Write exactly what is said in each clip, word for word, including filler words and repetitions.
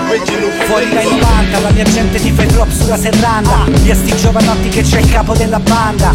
Fuori dai novanta la mia gente ti fa drop sulla serranda. Via sti giovanotti che c'è il capo della banda.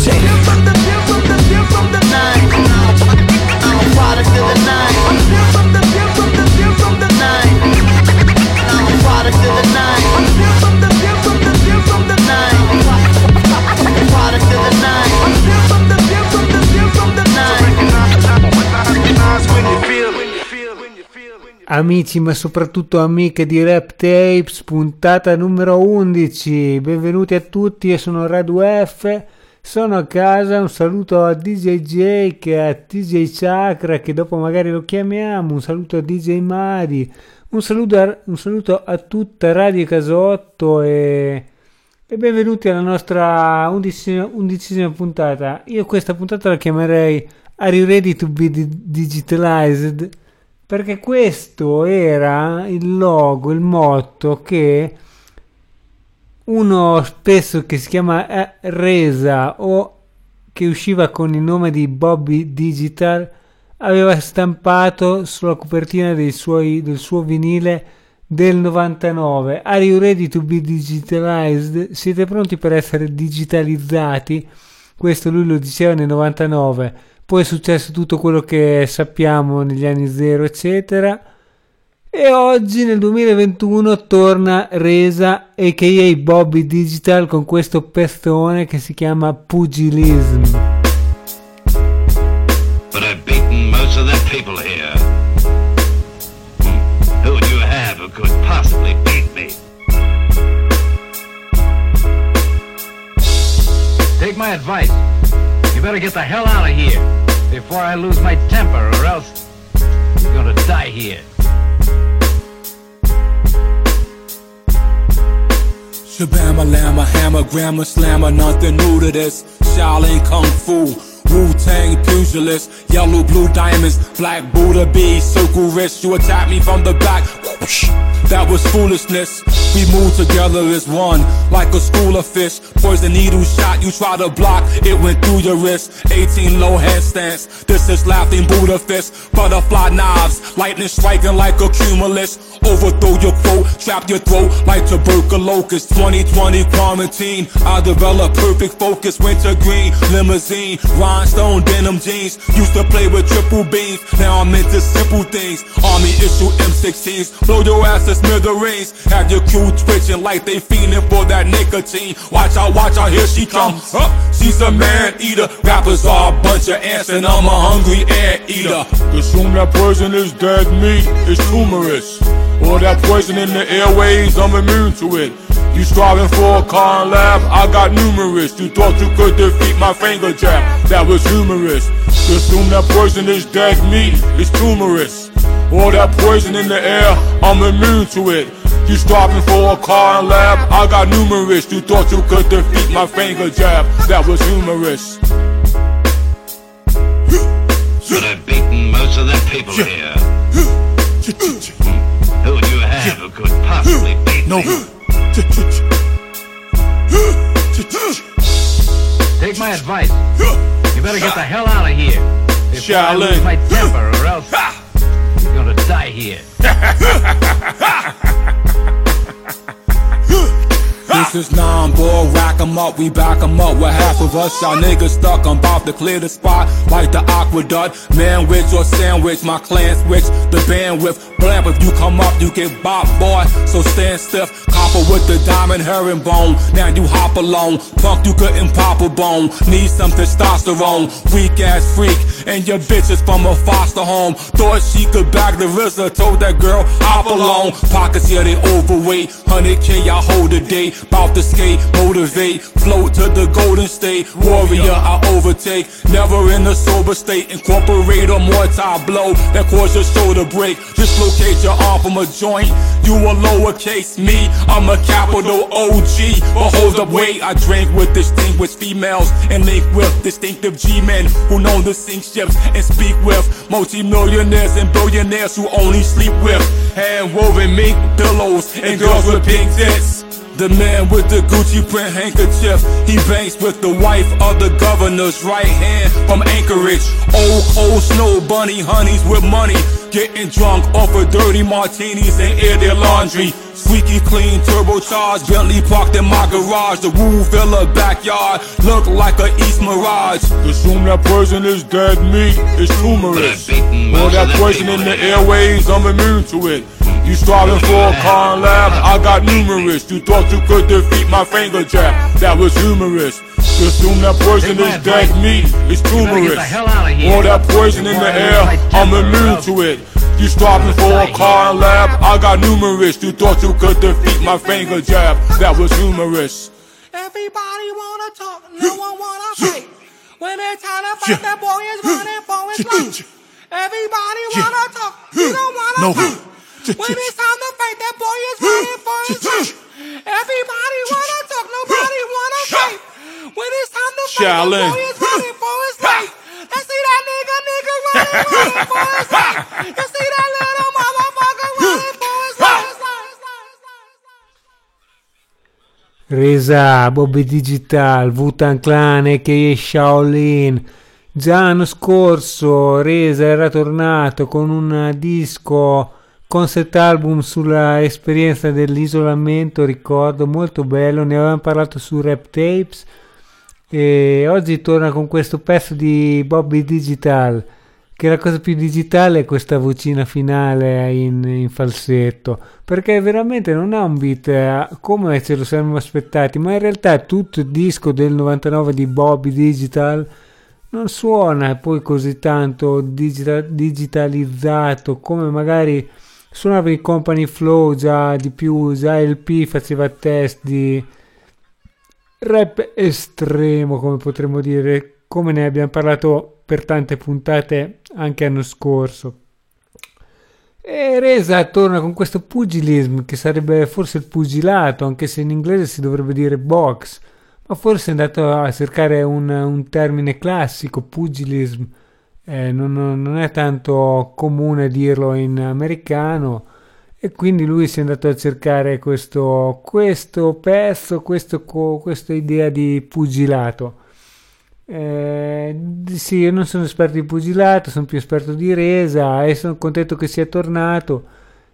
Amici, ma soprattutto amiche di Rap Tapes, puntata numero undici. Benvenuti a tutti, io sono Radu F, sono a casa. Un saluto a D J Jake, a D J Chakra, che dopo magari lo chiamiamo. Un saluto a D J Mari, un saluto a, un saluto a tutta Radio Casotto e, e benvenuti alla nostra undicesima, undicesima puntata. Io questa puntata la chiamerei Are You Ready to be Digitalized? Perché questo era il logo, il motto che uno spesso che si chiama Reza o che usciva con il nome di Bobby Digital aveva stampato sulla copertina dei suoi, del suo vinile del novantanove. Are you ready to be digitalized? Siete pronti per essere digitalizzati? Questo lui lo diceva nel novantanove. Poi è successo tutto quello che sappiamo negli anni zero, eccetera. E oggi, nel duemilaventuno, torna Reza, a k a. Bobby Digital, con questo pestone che si chiama Pugilism. But I've beaten most of the people here. Who would you have who could possibly beat me? Take my advice. You better get the hell out of here before I lose my temper, or else you're gonna die here. Shabama Lama, hammer, grammar, slammer, nothing new to this. Shaolin Kung Fu, Wu-Tang pugilist, yellow, blue diamonds, black Buddha bees, circle wrist. You attack me from the back, whoosh, that was foolishness. We move together as one, like a school of fish. Poison needle shot, you try to block, it went through your wrist. eighteen low handstands, this is laughing Buddha fist. Butterfly knives, lightning striking like a cumulus. Overthrow your quote, trap your throat like tuberculosis. twenty twenty quarantine, I developed perfect focus. Winter green, limousine, rhinestone denim jeans. Used to play with triple beams, now I'm into simple things. Army issue M sixteens, blow your ass to smithereens. Have your crew twitching like they fiending for that nicotine. Watch out, watch out, here she comes. Huh? She's a man eater. Rappers are a bunch of ants and I'm a hungry ant eater. Consume that poisonous dead meat, it's humorous. All that poison in the airways, I'm immune to it. You striving for a car and lab, I got numerous. You thought you could defeat my finger jab, that was humorous. Consume that poisonous dead meat, it's humorous. All that poison in the air, I'm immune to it. You striving for a car and lab, I got numerous. You thought you could defeat my finger jab, that was humorous. But I've beaten most of the people here. Who would you have who could possibly beat no. me? Take my advice. You better get the hell out of here before I lose my temper, or else you're gonna die here. This is nine ball, rack 'em up, we back 'em up with half of us. Y'all niggas stuck, I'm about to clear the spot like the aqueduct. Manwich or sandwich, my clan switch the bandwidth. Blam, if you come up, you get bop, boy, so stand stiff. Copper with the diamond herringbone, now you hop alone. Punk, you couldn't pop a bone, need some testosterone. Weak ass freak, and your bitch is from a foster home. Thought she could bag the R Z A, told that girl, hop alone. Pockets, yeah, they overweight, one hundred K, I hold a date. Bout to skate, motivate, float to the golden state. Warrior, I overtake, never in a sober state. Incorporate a mortar blow that cause your shoulder break. Dislocate your arm from a joint, you a lowercase me, I'm a capital O G. But hold up, wait, I drink with distinguished females and link with distinctive G-men who know to sink ships and speak with multi-millionaires and billionaires who only sleep with hand-woven mink pillows and girls with pink tits. The man with the Gucci print handkerchief, he banks with the wife of the governor's right hand from Anchorage. Old cold snow bunny honeys with money, Getting drunk off of dirty martinis and air their laundry. Squeaky clean, turbocharged, Bentley parked in my garage. The Woo Villa backyard looked like a East Mirage. Assume that poison is dead meat, it's humorous. All that poison in the airways, I'm immune to it. You striving for a con lab, I got numerous. You thought you could defeat my finger jab, that was humorous. Assume that poison is dead meat, it's humorous. All that poison in the air, I'm immune to it. You striving for a car lab, I got numerous. You thought you could defeat my finger jab, that was humorous. Everybody wanna talk, no one wanna fight. When it's time to fight, that boy is running for his life. Everybody wanna talk, you don't wanna fight. When it's time to fight, that boy is running for his life. Everybody wanna talk, nobody wanna fight. When it's time to fight, that boy is running for his life. You see that nigga, nigga running, running for his life. You see that little motherfucker running for his life. Resa, Bobby Digital, Wu-Tang Clan a k a. Shaolin. Già l'anno scorso Resa era tornato con un disco concept album sulla esperienza dell'isolamento, ricordo, molto bello, ne avevamo parlato su Rap Tapes, e oggi torna con questo pezzo di Bobby Digital, che la cosa più digitale è questa vocina finale in, in falsetto, perché veramente non ha un beat eh, come ce lo saremmo aspettati, ma in realtà tutto il disco del novantanove di Bobby Digital non suona poi così tanto digital, digitalizzato come magari suonava in Company Flow, già di più, già L P faceva test di rap estremo, come potremmo dire, come ne abbiamo parlato per tante puntate anche l'anno scorso. E Resa torna con questo pugilism, che sarebbe forse il pugilato, anche se in inglese si dovrebbe dire box, ma forse è andato a cercare un, un termine classico, pugilism. Eh, non, non è tanto comune dirlo in americano, e quindi lui si è andato a cercare questo, questo pezzo, questo, questa idea di pugilato. Eh, sì, io non sono esperto di pugilato, sono più esperto di Resa e sono contento che sia tornato.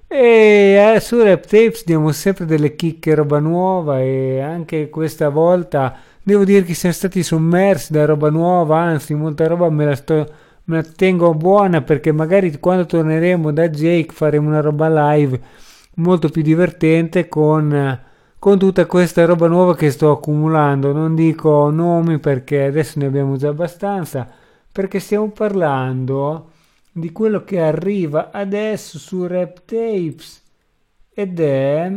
E eh, su Rap Tapes diamo sempre delle chicche, roba nuova, e anche questa volta devo dire che siamo stati sommersi da roba nuova, anzi molta roba me la sto me la tengo buona, perché magari quando torneremo da Jake faremo una roba live molto più divertente con, con tutta questa roba nuova che sto accumulando. Non dico nomi perché adesso ne abbiamo già abbastanza, perché stiamo parlando di quello che arriva adesso su Rap Tapes, ed è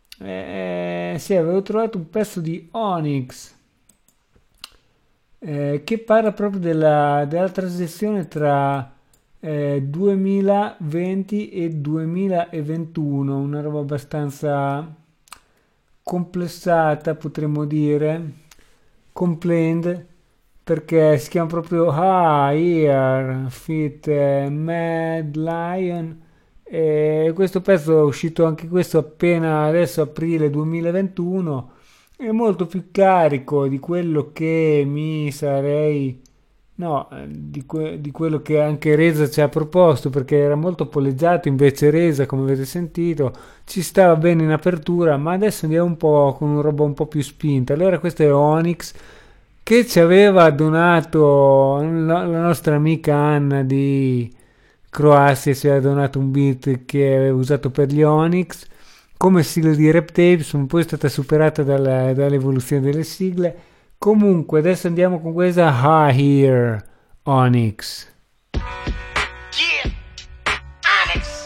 eh, sì, avevo trovato un pezzo di Onyx Eh, che parla proprio della, della transizione tra eh, duemilaventi e duemilaventuno, una roba abbastanza complessata, potremmo dire, complained, perché si chiama proprio Ah Here Fit eh, Mad Lion, e questo pezzo è uscito anche questo appena adesso, aprile duemilaventuno. È molto più carico di quello che mi sarei no di, que, di quello che anche Resa ci ha proposto, perché era molto polleggiato. Invece Resa, come avete sentito, ci stava bene in apertura, ma adesso andiamo un po' con una roba un po' più spinta. Allora questo è Onyx, che ci aveva donato la, la nostra amica Anna di Croazia, ci aveva donato un beat che aveva usato per gli Onyx come sigla di Rap Tapes, un po' è stata superata dalla, dall'evoluzione delle sigle. Comunque adesso andiamo con questa Ah Here, Onyx. Yeah, Onyx.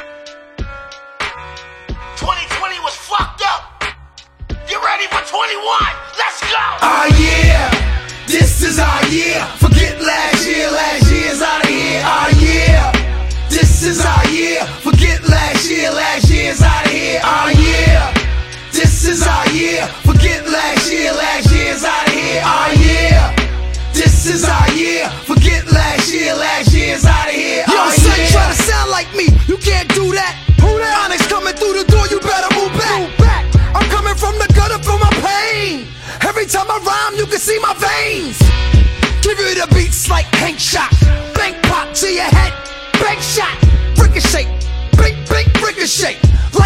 twenty twenty was fucked up. You ready for twenty-one? Let's go. Ah yeah, this is our year. Forget last year, last year's out of here. Ah yeah, this is our year. Forget last year, last year's out of here. Ah yeah, this is our year. Forget last year, last year's out of here. Ah yeah, this is our year. Forget last year, last year's out of here. Yo, oh, son, yeah. Try to sound like me, you can't do that. Who that? Onyx coming through the door, you better move back. Move back. I'm coming from the gutter for my pain. Every time I rhyme, you can see my veins. Give you the beats like Hank Shot. Bank pop to your head, bank shot.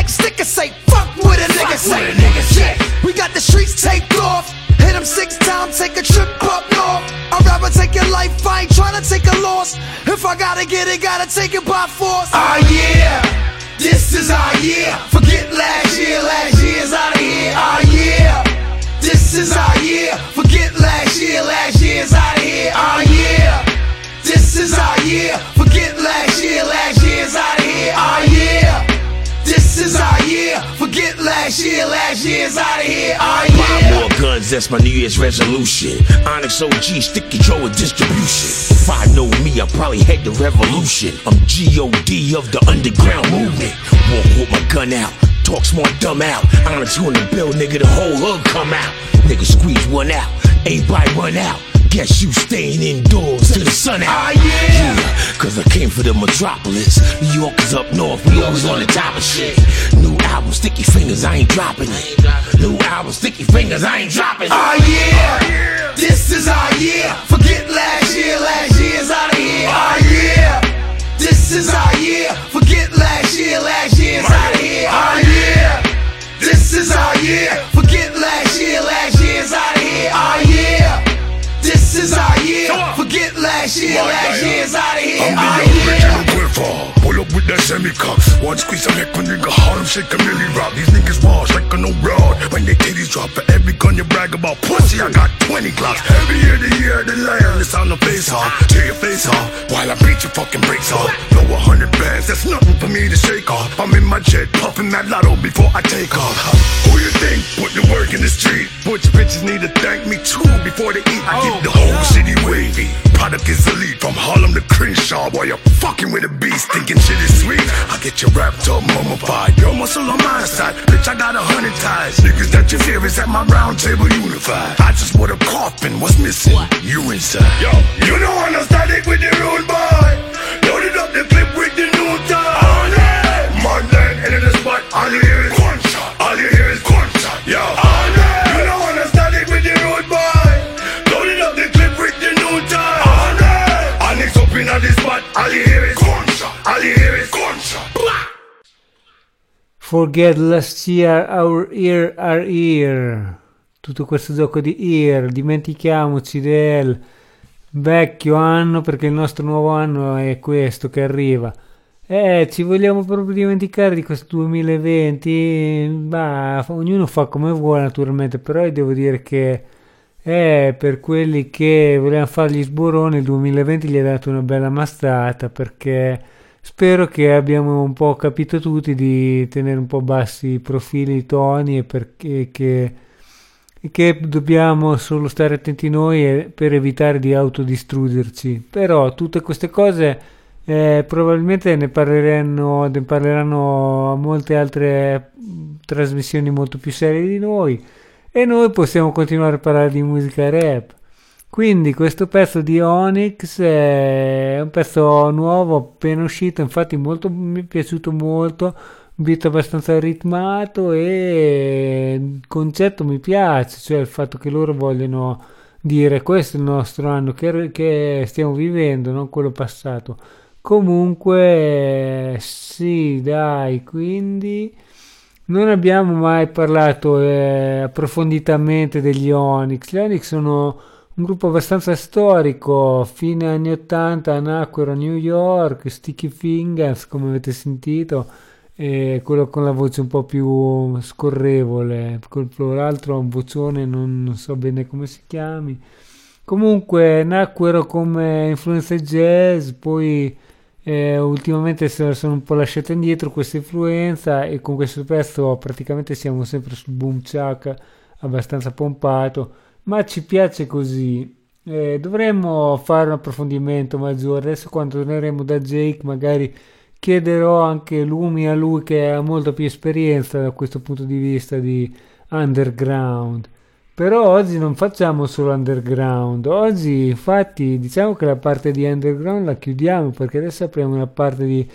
next nigga say, fuck what a nigga say. Yeah, we got the streets taped off. Hit them six times, take a trip up north. I'd rather take your life, I ain't tryna take a loss. If I gotta get it, gotta take it by force. Ah yeah, this is our year. Forget last year, last year's out of here. Ah yeah, this is our year. Forget last year, last year's out of here. Ah yeah, this is our year. Forget last year, last year's out of here. Ah yeah, this is our year. Forget last year, last year's out of here. Ah yeah. Buy more guns, that's my New Year's resolution. Onyx O G, stick control of distribution. If I know me, I probably head the revolution. I'm G O D of the underground movement. Walk with my gun out, talk smart, dumb out. Onyx, you in the bill, nigga, the whole hood come out. Nigga squeeze one out, everybody run out. Guess you staying indoors till the sun out. Ah yeah, yeah, cause I came for the metropolis. New York is up north, we always on the top of shit. New album, Sticky Fingers, I ain't dropping it. New album, Sticky Fingers, I ain't dropping it. Ah yeah, this is our year. Forget last year, last year's out of here. Ah yeah, this is our year. Forget last year, last year's out of here. Ah yeah, this is our year. Forget last year, last year's out of here. Ah yeah, this is our year. Forget last year, last year's out of here. I'm Ah the yeah. original Griffon. Pull up with that semi-cup. One squeeze, I make a nigga Harlem shake a milli rock. These niggas walls like a no broad. When they titties drop, for every gun you brag about pussy, I got twenty glocks. Every year the year the land, it's on the face off. Tear your face off, while I beat your fucking brakes off. Blow a hundred bands, that's nothing for me to shake off. I'm in my jet, puffing that lotto before I take off. Who you think put the work in the street? Butch bitches need to thank me too before they eat. I keep the whole city wavy. Product is elite from Harlem to Crenshaw. While you're fucking with a beast, thinking shit is sweet. I get you wrapped up, mummified. Your muscle on my side, bitch. I got a hundred ties. Niggas that you fear is at my round table unified. I just want a coffin. What's missing? You inside. Yo, you don't understand it with the rude boy. Loaded up the clip with the new time. On it, Monday, and in the spot, all you hear is one shot. All you hear is one shot. Yo, on it, you don't understand it with the rude boy. Loaded up the clip with the new time. On it, Onyx up in the spot, all you hear is one shot. All you hear is one shot. Forget last year, our year, our year. Tutto questo gioco di year, dimentichiamoci del vecchio anno perché il nostro nuovo anno è questo che arriva. Eh, ci vogliamo proprio dimenticare di questo duemilaventi? Bah, ognuno fa come vuole naturalmente, però io devo dire che eh, per quelli che volevano fare gli sboroni il duemilaventi gli ha dato una bella mastata, perché spero che abbiamo un po' capito tutti di tenere un po' bassi i profili, i toni, e perché che, che dobbiamo solo stare attenti noi per evitare di autodistruggerci. Però tutte queste cose eh, probabilmente ne parleranno, ne parleranno molte altre trasmissioni molto più serie di noi, e noi possiamo continuare a parlare di musica rap. Quindi questo pezzo di Onyx è un pezzo nuovo, appena uscito, infatti molto, mi è piaciuto molto, un beat abbastanza ritmato e il concetto mi piace, cioè il fatto che loro vogliono dire questo è il nostro anno che, che stiamo vivendo, non quello passato. Comunque sì, dai, quindi non abbiamo mai parlato eh, approfonditamente degli Onyx. Gli Onyx sono un gruppo abbastanza storico, fine anni ottanta nacquero a New York, Sticky Fingers come avete sentito, e quello con la voce un po' più scorrevole, l'altro ha un vocione, non, non so bene come si chiami. Comunque nacquero come influenze jazz, poi eh, ultimamente se sono un po' lasciate indietro questa influenza, e con questo pezzo praticamente siamo sempre sul boom chak abbastanza pompato, ma ci piace così. Eh, dovremmo fare un approfondimento maggiore. Adesso quando torneremo da Jake magari chiederò anche lumi a lui, che ha molta più esperienza da questo punto di vista di underground. Però oggi non facciamo solo underground, oggi infatti diciamo che la parte di underground la chiudiamo, perché adesso apriamo una parte di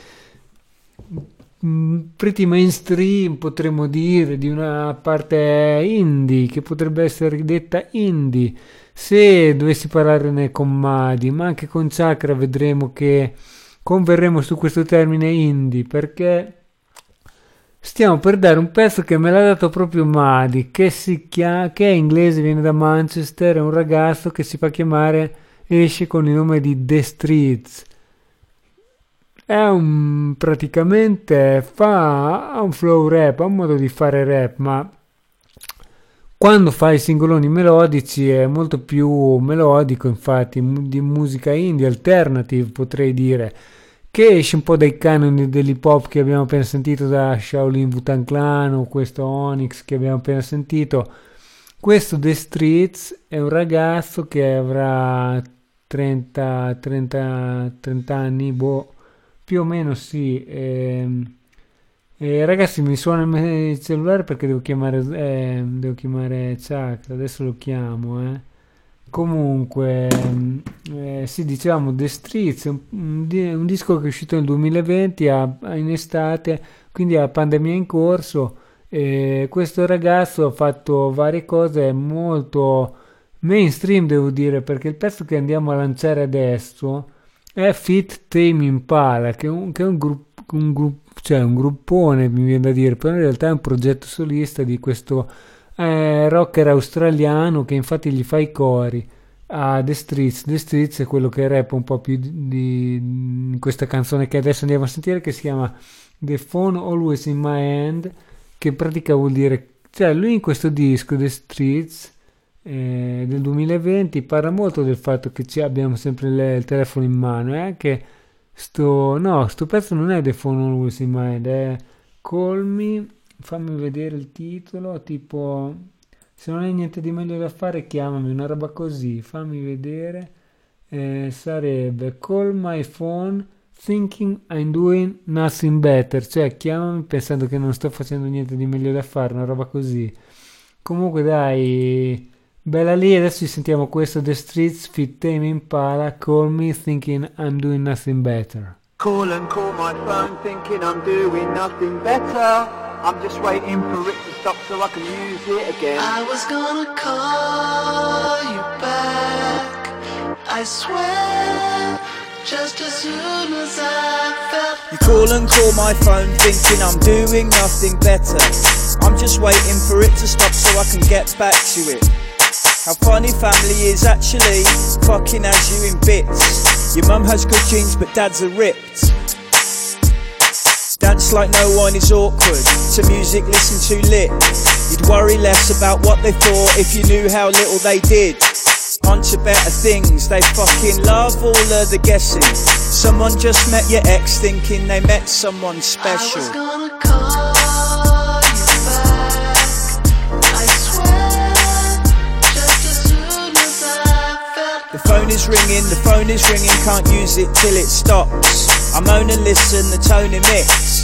pretty mainstream, potremmo dire, di una parte indie che potrebbe essere detta indie se dovessi parlarne con Madi, ma anche con Chakra vedremo che converremo su questo termine indie, perché stiamo per dare un pezzo che me l'ha dato proprio Madi, che si chiama, che è inglese, viene da Manchester, è un ragazzo che si fa chiamare, esce con il nome di The Streets. È un, praticamente fa ha un flow rap, ha un modo di fare rap, ma quando fa i singoloni melodici è molto più melodico, infatti, di musica indie, alternative potrei dire, che esce un po' dai canoni dell'hip hop che abbiamo appena sentito da Shaolin Wu-Tang Clan o questo Onyx che abbiamo appena sentito. Questo The Streets è un ragazzo che avrà trenta, trenta, trenta anni, boh, più o meno sì. E, e ragazzi, mi suona il cellulare perché devo chiamare, eh, devo chiamare Chuck, adesso lo chiamo, eh. Comunque, eh, sì, dicevamo The Streets, un, un, un disco che è uscito nel duemilaventi a, a in estate, quindi a pandemia in corso. E questo ragazzo ha fatto varie cose molto mainstream, devo dire, perché il pezzo che andiamo a lanciare adesso è Fit Tame Impala, che è un, che è un gruppo, un gruppo, cioè un gruppone, mi viene da dire, però in realtà è un progetto solista di questo eh, rocker australiano che infatti gli fa i cori a The Streets. The Streets è quello che rappa un po' più di, di in questa canzone che adesso andiamo a sentire, che si chiama The Phone Always in My Hand, che in pratica vuol dire, cioè lui in questo disco The Streets eh, del duemilaventi parla molto del fatto che ci abbiamo sempre le, il telefono in mano, e anche sto no sto pezzo non è The Phone Always in My Hand, è Call Me, fammi vedere il titolo, tipo se non hai niente di meglio da fare chiamami, una roba così, fammi vedere, eh, sarebbe Call My Phone Thinking I'm Doing Nothing Better, cioè chiamami pensando che non sto facendo niente di meglio da fare, una roba così. Comunque dai, bella lì. Adesso ci sentiamo questo The Streets Fit Tame Impala, Call Me Thinking I'm Doing Nothing Better. Call and call my phone thinking I'm doing nothing better. I'm just waiting for it to stop so I can use it again. I was gonna call you back, I swear, just as soon as I felt. You call and call my phone thinking I'm doing nothing better. I'm just waiting for it to stop so I can get back to it. How funny family is actually, fucking has you in bits. Your mum has good genes but dad's are ripped. Dance like no one is awkward, to music listen too lit. You'd worry less about what they thought if you knew how little they did. On to better things, they fucking love all of the guessing. Someone just met your ex thinking they met someone special. I was gonna call you back, I swear, just as soon as I felt. The phone is ringing, the phone is ringing, can't use it till it stops. I moan and listen, the tone emits.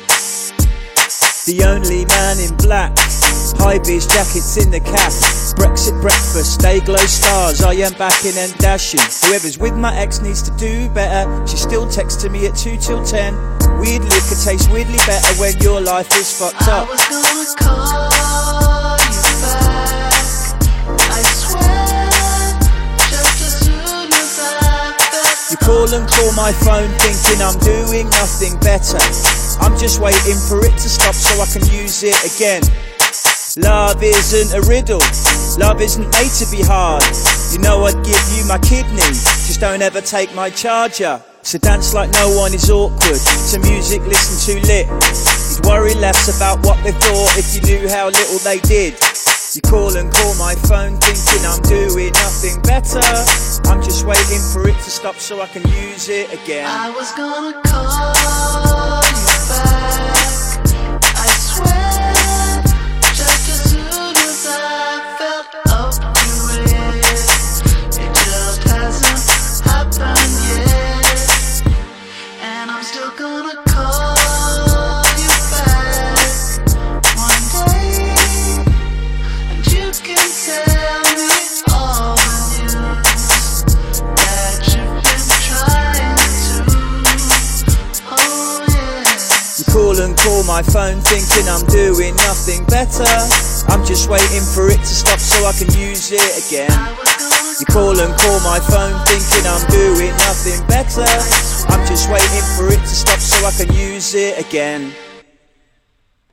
The only man in black, high vis jackets in the cap. Brexit breakfast, day glow stars, I am backing and dashing. Whoever's with my ex needs to do better. She still texting me at two till ten. Weird liquor tastes weirdly better when your life is fucked up. I was gonna call you back, I swear, just as soon as I felt. You call and call my phone thinking I'm doing nothing better. I'm just waiting for it to stop so I can use it again. Love isn't a riddle, love isn't made to be hard. You know I'd give you my kidney, just don't ever take my charger. So dance like no one is awkward, to music listen too lit. You'd worry less about what they thought if you knew how little they did. You call and call my phone thinking I'm doing nothing better. I'm just waiting for it to stop so I can use it again. I was gonna call you back, I swear, just as soon as I felt up to it. It just hasn't happened yet, and I'm still gonna call you back one day, and you can tell me all the news that you've been trying to. Oh yeah. You call and call my phone thinking I'm doing nothing better. I'm just waiting for it to stop so I can use it again. You call and call my phone thinking I'm doing nothing better. I'm just waiting for it to stop so I can use it again.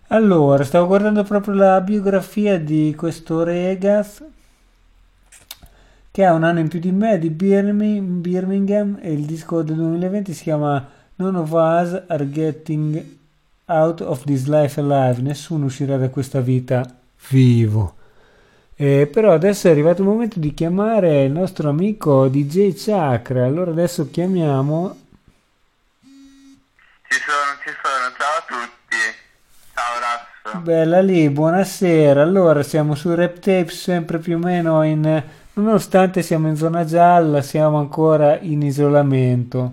Allora, stavo guardando proprio la biografia di questo Regaz che ha un anno in più di me, di Birmi- Birmingham, e il disco del duemilaventi si chiama None of Us Are Getting Out of This Life Alive. Nessuno uscirà da questa vita vivo. Eh, però adesso è arrivato il momento di chiamare il nostro amico D J Chakra. Allora adesso chiamiamo. Ci sono, ci sono, ciao a tutti. Ciao Rasso. Bella lì, buonasera. Allora siamo su Rap Tapes, sempre più o meno in. Nonostante siamo in zona gialla, siamo ancora in isolamento.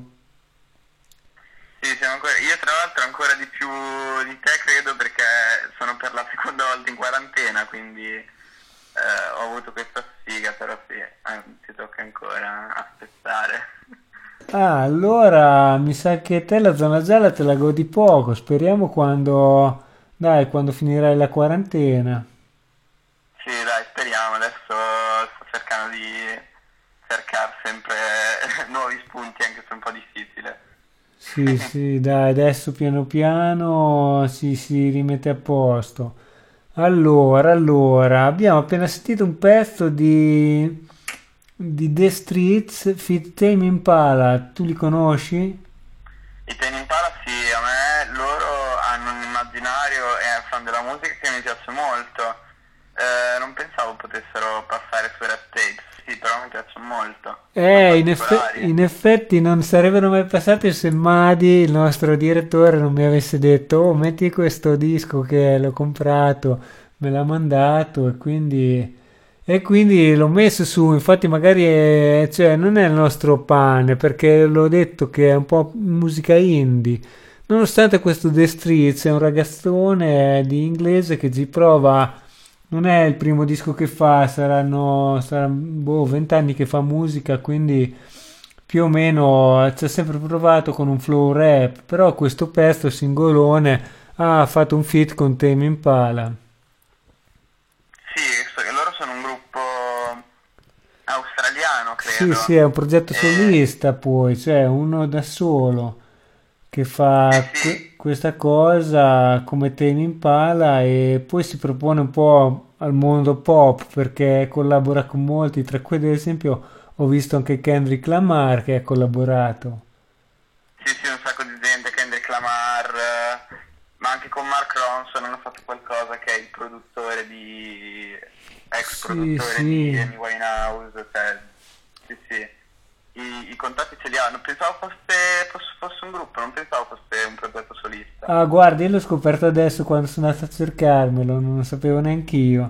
Sì, siamo ancora. Io tra l'altro ancora di più di te credo perché sono per la seconda volta in quarantena, quindi eh, ho avuto questa sfiga, però sì, eh, ci tocca ancora aspettare. Ah, allora mi sa che te la zona gialla te la godi poco. Speriamo quando. Dai, quando finirai la quarantena. Sì, dai, speriamo. Adesso sto cercando di cercare sempre nuovi spunti, anche se è un po' difficile. Sì, sì, dai, adesso piano piano si, si rimette a posto. Allora, allora, abbiamo appena sentito un pezzo di, di The Streets feat. Tame Impala. Tu li conosci? I Tame Impala sì, a me loro hanno un immaginario e fan della musica che mi piace molto. Eh, non pensavo potessero passare su Rap Tapes, sì, però mi piacciono molto. Eh, in, effe- in effetti non sarebbero mai passati se Madi, il nostro direttore, non mi avesse detto: oh, metti questo disco che l'ho comprato, me l'ha mandato e quindi, e quindi l'ho messo su. Infatti magari è, cioè, non è il nostro pane, perché l'ho detto che è un po' musica indie. Nonostante questo The Streets è un ragazzone di inglese che ci prova. Non è il primo disco che fa, saranno, saranno boh, vent'anni che fa musica, quindi più o meno ci ha sempre provato con un flow rap, però questo pezzo singolone ha fatto un feat con Tame Impala. Sì, so che loro sono un gruppo australiano, Sì, credo. sì, è un progetto solista poi, cioè uno da solo che fa que- questa cosa come Tame Impala e poi si propone un po' al mondo pop perché collabora con molti, tra cui ad esempio ho visto anche Kendrick Lamar che ha collaborato. Sì, sì, un sacco di gente, Kendrick Lamar, eh, ma anche con Mark Ronson hanno fatto qualcosa, che è il produttore di... ex Sì, produttore sì. di Amy Winehouse, cioè, sì, sì. I, i contatti ce li hanno, pensavo fosse, fosse, fosse un gruppo, non pensavo fosse un progetto solista. Ah, guarda, io l'ho scoperto adesso quando sono andato a cercarmelo, non lo sapevo neanche io.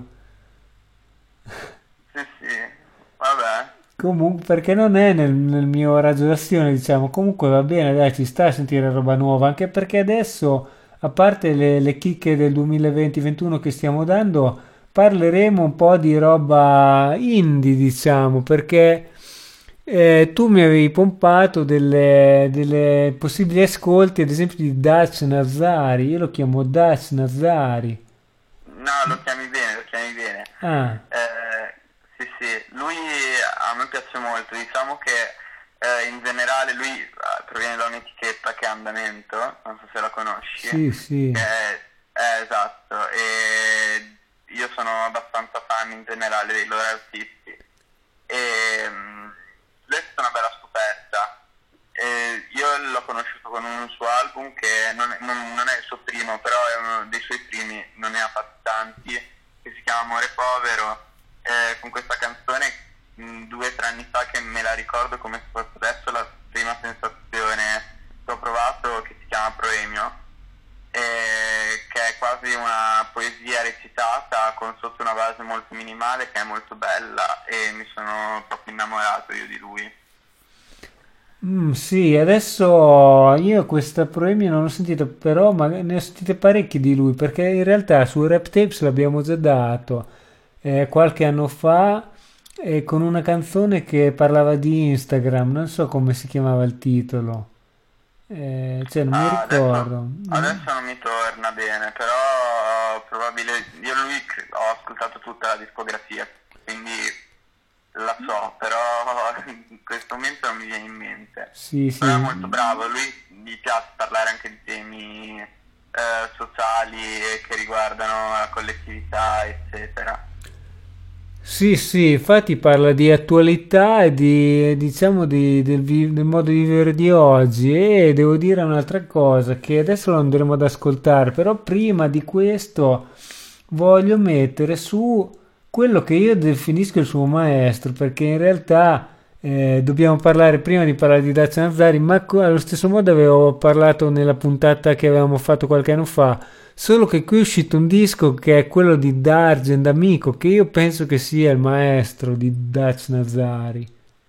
Sì, sì, vabbè. Comunque, perché non è nel, nel mio raggio d'azione, diciamo. Comunque va bene, dai, ci sta a sentire roba nuova, anche perché adesso, a parte le, le chicche del duemilaventi-ventuno che stiamo dando, parleremo un po' di roba indie, diciamo, perché eh, tu mi avevi pompato delle, delle possibili ascolti, ad esempio di Dutch Nazari. Io lo chiamo Dutch Nazari. No, lo chiami bene, lo chiami bene. Ah, Eh, sì, sì, lui a me piace molto, diciamo che eh, in generale lui eh, proviene da un'etichetta che è Andamento, non so se la conosci. sì, sì. Che è, è esatto, e io sono abbastanza fan in generale dei loro artisti. E mh, lui è stata una bella scoperta. E io l'ho conosciuto con un suo album che non è, non- non è il suo primo, però è uno dei suoi primi, non ne ha fatti tanti, che si chiama Amore Povero, eh, con questa canzone mh, due o tre anni fa che me la ricordo come se fosse adesso la prima sensazione che ho provato, che si chiama Proemio, eh, che è quasi una poesia recitata con sotto una base molto minimale che è molto bella e mi sono proprio innamorato io di lui. Mm, sì, adesso io questa Proemio non l'ho sentita, però ma ne ho sentite parecchie di lui, perché in realtà su Rap Tapes l'abbiamo già dato eh, qualche anno fa eh, con una canzone che parlava di Instagram, non so come si chiamava il titolo, eh, cioè non mi Ah, adesso, ricordo. adesso non mi torna bene, però probabile, io lui cre- ho ascoltato tutta la discografia, quindi la so, però in questo momento non mi viene in mente. Sì, sì. Però è molto bravo, lui gli piace parlare anche di temi eh, sociali e che riguardano la collettività, eccetera. Sì, sì, infatti parla di attualità e di, diciamo, di- del, vi- del modo di vivere di oggi e devo dire un'altra cosa che adesso lo andremo ad ascoltare, però prima di questo voglio mettere su quello che io definisco il suo maestro, perché in realtà eh, dobbiamo parlare prima di parlare di Dacia Nazzari, ma co- allo stesso modo avevo parlato nella puntata che avevamo fatto qualche anno fa. Solo che qui è uscito un disco che è quello di Dargen D'Amico, che io penso che sia il maestro di Dacia Nazzari.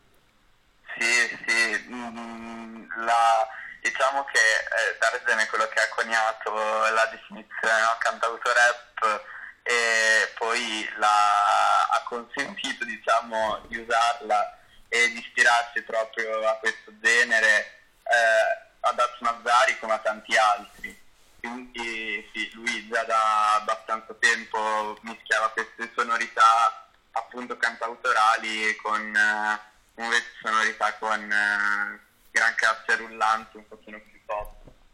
Sì, sì, mm, la- diciamo che eh, Dargen è quello che ha coniato la definizione, no, cantauto rap, e poi la- ha consentito, diciamo, di usarla e di ispirarsi proprio a questo genere, eh, a Dacia Nazzari come a tanti altri. Quindi sì, lui già da abbastanza tempo mischiava queste sonorità appunto cantautorali con eh, invece sonorità con eh, gran casse rullanti, un pochino più pop.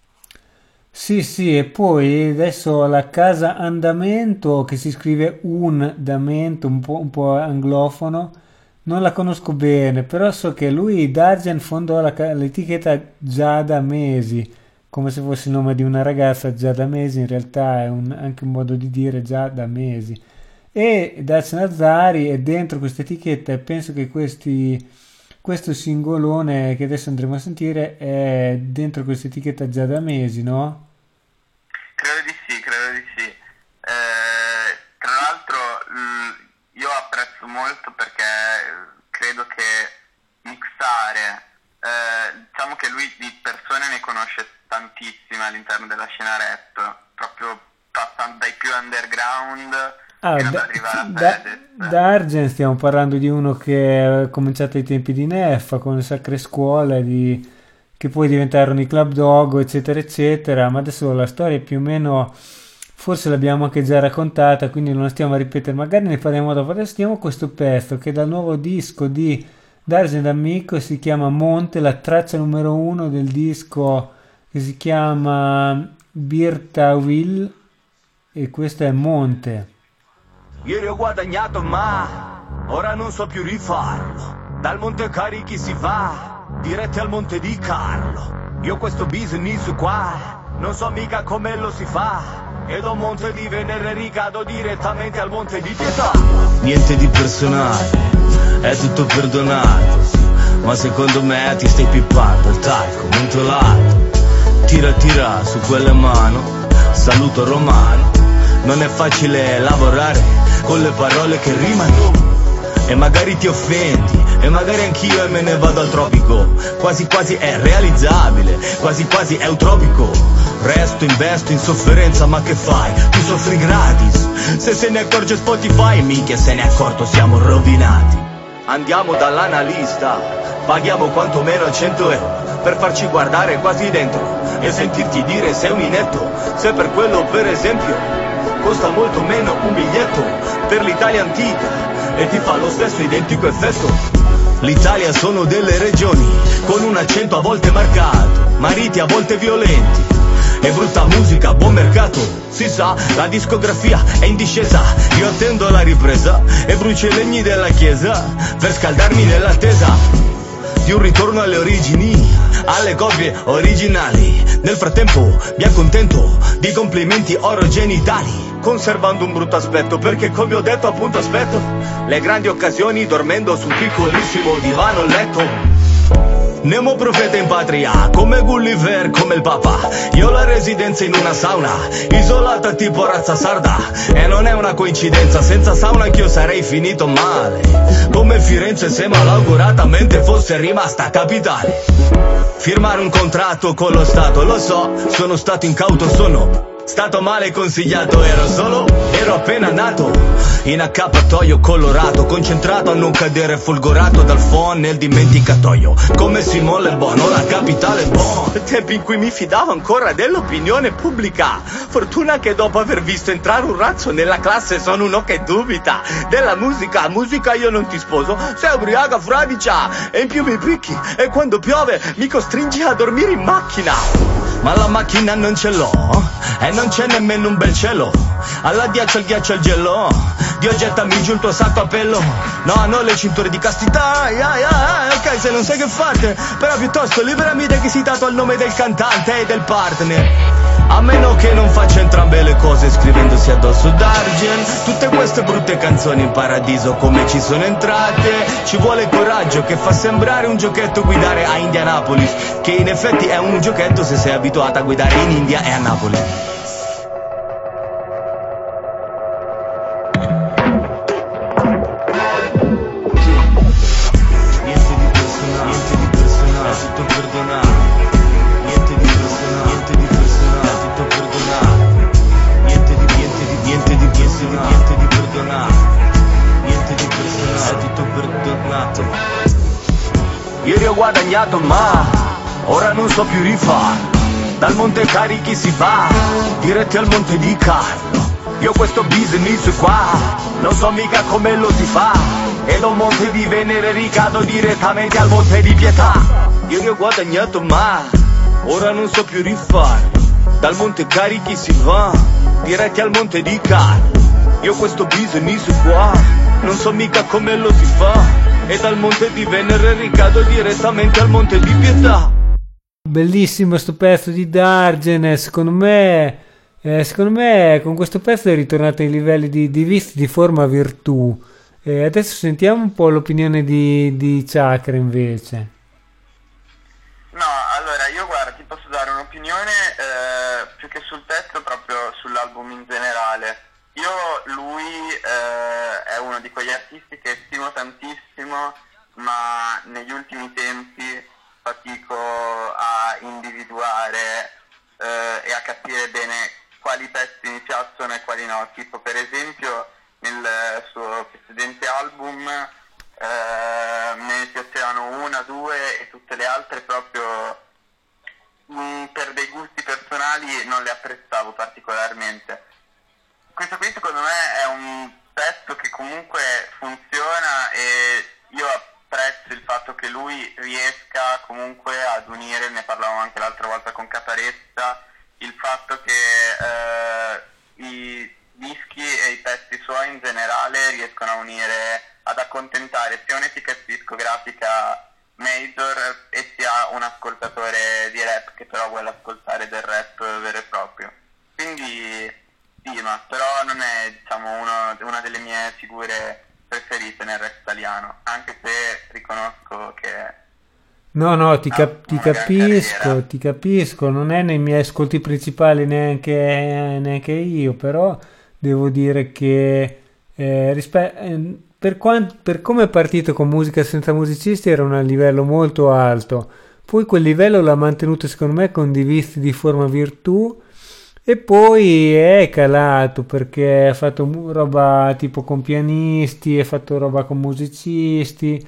Sì, sì, e poi adesso la Casa Andamento, che si scrive un damento, un po', un po' anglofono, non la conosco bene, però so che lui, Dargen, fondò la ca- l'etichetta già da mesi, come se fosse il nome di una ragazza già da mesi, in realtà è un- anche un modo di dire già da mesi. E Dacia Nazzari è dentro questa etichetta e penso che questi, questo singolone che adesso andremo a sentire è dentro questa etichetta già da mesi, no? Credo di sì, credo di sì. Eh, tra l'altro l- io apprezzo molto perché credo che mixare, eh, diciamo che lui di persone ne conosce tantissime all'interno della scena rap, proprio passando dai più underground Ah, fino ad da, arrivare a da, Fedez. da Argen stiamo parlando di uno che è cominciato ai tempi di Neffa con le sacre scuole, di, che poi diventarono i Club Dogo, eccetera, eccetera, ma adesso la storia più o meno forse l'abbiamo anche già raccontata, quindi non la stiamo a ripetere, magari ne parliamo dopo. Adesso stiamo questo pezzo che è dal nuovo disco di Dargen D'Amico, si chiama Monte, la traccia numero uno del disco che si chiama Birtawil e questo è Monte. Ieri ho guadagnato ma ora non so più rifarlo. Dal Monte Carichi si va diretti al Monte di Carlo. Io questo business qua non so mica come lo si fa. E da un Monte di Venere ricado direttamente al Monte di Pietà. Niente di personale, è tutto perdonato. Ma secondo me ti stai pippando il talco mentolato. Tira tira su quelle mano, saluto romano. Non è facile lavorare con le parole che rimano. E magari ti offendi, e magari anch'io e me ne vado al tropico. Quasi quasi è realizzabile, quasi quasi è utopico. Resto, investo in sofferenza, ma che fai? Tu soffri gratis. Se se ne accorge Spotify, minchia se ne è accorto, siamo rovinati. Andiamo dall'analista, paghiamo quantomeno cento euro per farci guardare quasi dentro e sentirti dire sei un inetto. Se per quello per esempio costa molto meno un biglietto per l'Italia antica e ti fa lo stesso identico effetto. L'Italia sono delle regioni con un accento a volte marcato, mariti a volte violenti e brutta musica, buon mercato. Si sa, la discografia è in discesa. Io attendo la ripresa e brucio i legni della chiesa per scaldarmi nell'attesa di un ritorno alle origini, alle copie originali. Nel frattempo mi accontento di complimenti orogenitali, conservando un brutto aspetto, perché come ho detto appunto aspetto le grandi occasioni dormendo su un piccolissimo divano letto. Nemo profeta in patria, come Gulliver, come il Papa. Io ho la residenza in una sauna, isolata tipo razza sarda. E non è una coincidenza, senza sauna anch'io sarei finito male, come Firenze se malauguratamente fosse rimasta capitale. Firmare un contratto con lo Stato, lo so, sono stato incauto, sono stato male consigliato, ero solo, ero appena nato in accappatoio colorato, concentrato a non cadere folgorato dal phon nel dimenticatoio, come Simone Le Bon, la capitale Bon. Tempi in cui mi fidavo ancora dell'opinione pubblica. Fortuna che dopo aver visto entrare un razzo nella classe sono uno che dubita della musica. Musica io non ti sposo, sei ubriaca fradicia e in più mi picchi e quando piove mi costringi a dormire in macchina. ma la macchina non ce l'ho e non c'è nemmeno un bel cielo. Alla ghiaccia il ghiaccio al gelo, Dio gettami giù il tuo sacco a pelo. No, non le cinture di castità, yeah, yeah, ok, se non sai che fate, però piuttosto liberami da chi si tatua il nome del cantante e del partner. A meno che non faccia entrambe le cose scrivendosi addosso Dargen. Tutte queste brutte canzoni in paradiso come ci sono entrate. Ci vuole coraggio che fa sembrare un giochetto guidare a Indianapolis, che in effetti è un giochetto se sei abituato a guidare in India e a Napoli. Ieri ho guadagnato ma ora non so più rifarlo. Dal Monte Carichi si va diretti al Monte di Carlo. Io questo business qua non so mica come lo si fa, e da un monte di Venere ricado direttamente al Monte di Pietà. Ieri ho guadagnato ma ora non so più rifarlo. Dal Monte Carichi si va diretti al Monte di Carlo. Io questo business qua non so mica come lo si fa, e dal Monte di Venere ricado direttamente al Monte di Pietà. Bellissimo sto pezzo di Dargen. Secondo me eh, secondo me con questo pezzo è ritornato ai livelli di, di vizi di forma virtù. E adesso sentiamo un po' l'opinione di, di Chakra invece. No, allora io guarda, ti posso dare un'opinione eh, più che sul testo, proprio sull'album in generale. Io lui eh, è uno di quegli artisti che stimo tantissimo, ma negli ultimi tempi fatico a individuare eh, e a capire bene quali pezzi mi piacciono e quali no. Tipo per esempio nel suo precedente album eh, me ne piacevano una, due e tutte le altre proprio mh, per dei gusti personali non le apprezzavo particolarmente. Questo qui secondo me è un pezzo che comunque funziona e io apprezzo il fatto che lui riesca comunque ad unire, ne parlavamo anche l'altra volta con Caparezza, il fatto che eh, i dischi e i pezzi suoi in generale riescono a unire, ad accontentare sia un'etichetta discografica major e sia un ascoltatore di rap che però vuole ascoltare del rap vero e proprio. Quindi sì, ma però non è, diciamo, uno, una delle mie figure preferite nel rap italiano, anche se riconosco che... No, no, ti, cap- ti capisco, carriera. ti capisco, non è nei miei ascolti principali neanche, neanche io, però devo dire che eh, rispe- eh, per, quant- per come è partito con Musica Senza Musicisti era un livello molto alto, poi quel livello l'ha mantenuto secondo me con dei vizi di forma virtù, e poi è calato perché ha fatto roba tipo con pianisti, ha fatto roba con musicisti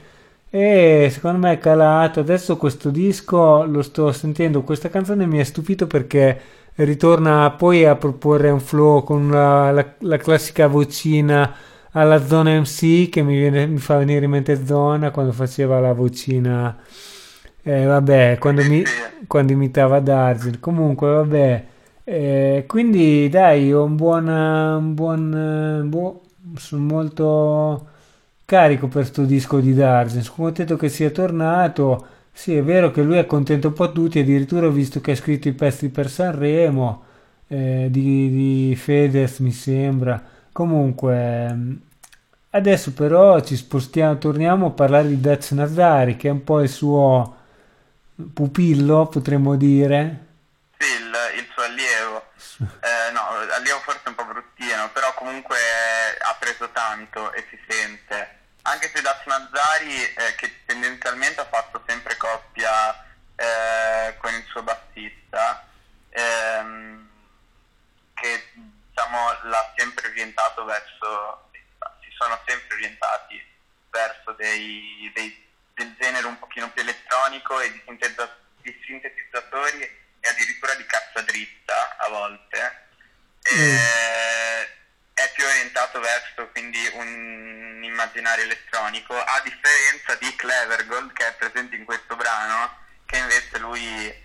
e secondo me è calato. Adesso questo disco lo sto sentendo, questa canzone mi ha stupito perché ritorna poi a proporre un flow con la, la, la classica vocina alla Zona M C che mi, viene, mi fa venire in mente Zona quando faceva la vocina, eh, vabbè, quando, mi, quando imitava Dargen. Comunque vabbè. Eh, quindi dai, ho un buon, un buon boh, sono molto carico per sto disco di Dargen, sono contento che sia tornato. Sì, è vero che lui accontenta un po' tutti, addirittura ho visto che ha scritto i pezzi per Sanremo eh, di, di Fedez mi sembra. Comunque adesso però ci spostiamo, torniamo a parlare di Daz Nazari, che è un po' il suo pupillo, potremmo dire. Sì, il, il suo allievo. Eh, no, allievo forse un po' bruttino, però comunque ha preso tanto e si sente. Anche se Daz Nazari, eh, che tendenzialmente ha fatto sempre coppia eh, con il suo bassista, ehm, che diciamo l'ha sempre orientato verso, si sono sempre orientati verso dei, dei, del genere un pochino più elettronico e di, sintetizza, di sintetizzatori e addirittura di cassa dritta a volte. Mm. E, è più orientato verso quindi un immaginario elettronico, a differenza di Clevergold che è presente in questo brano, che invece lui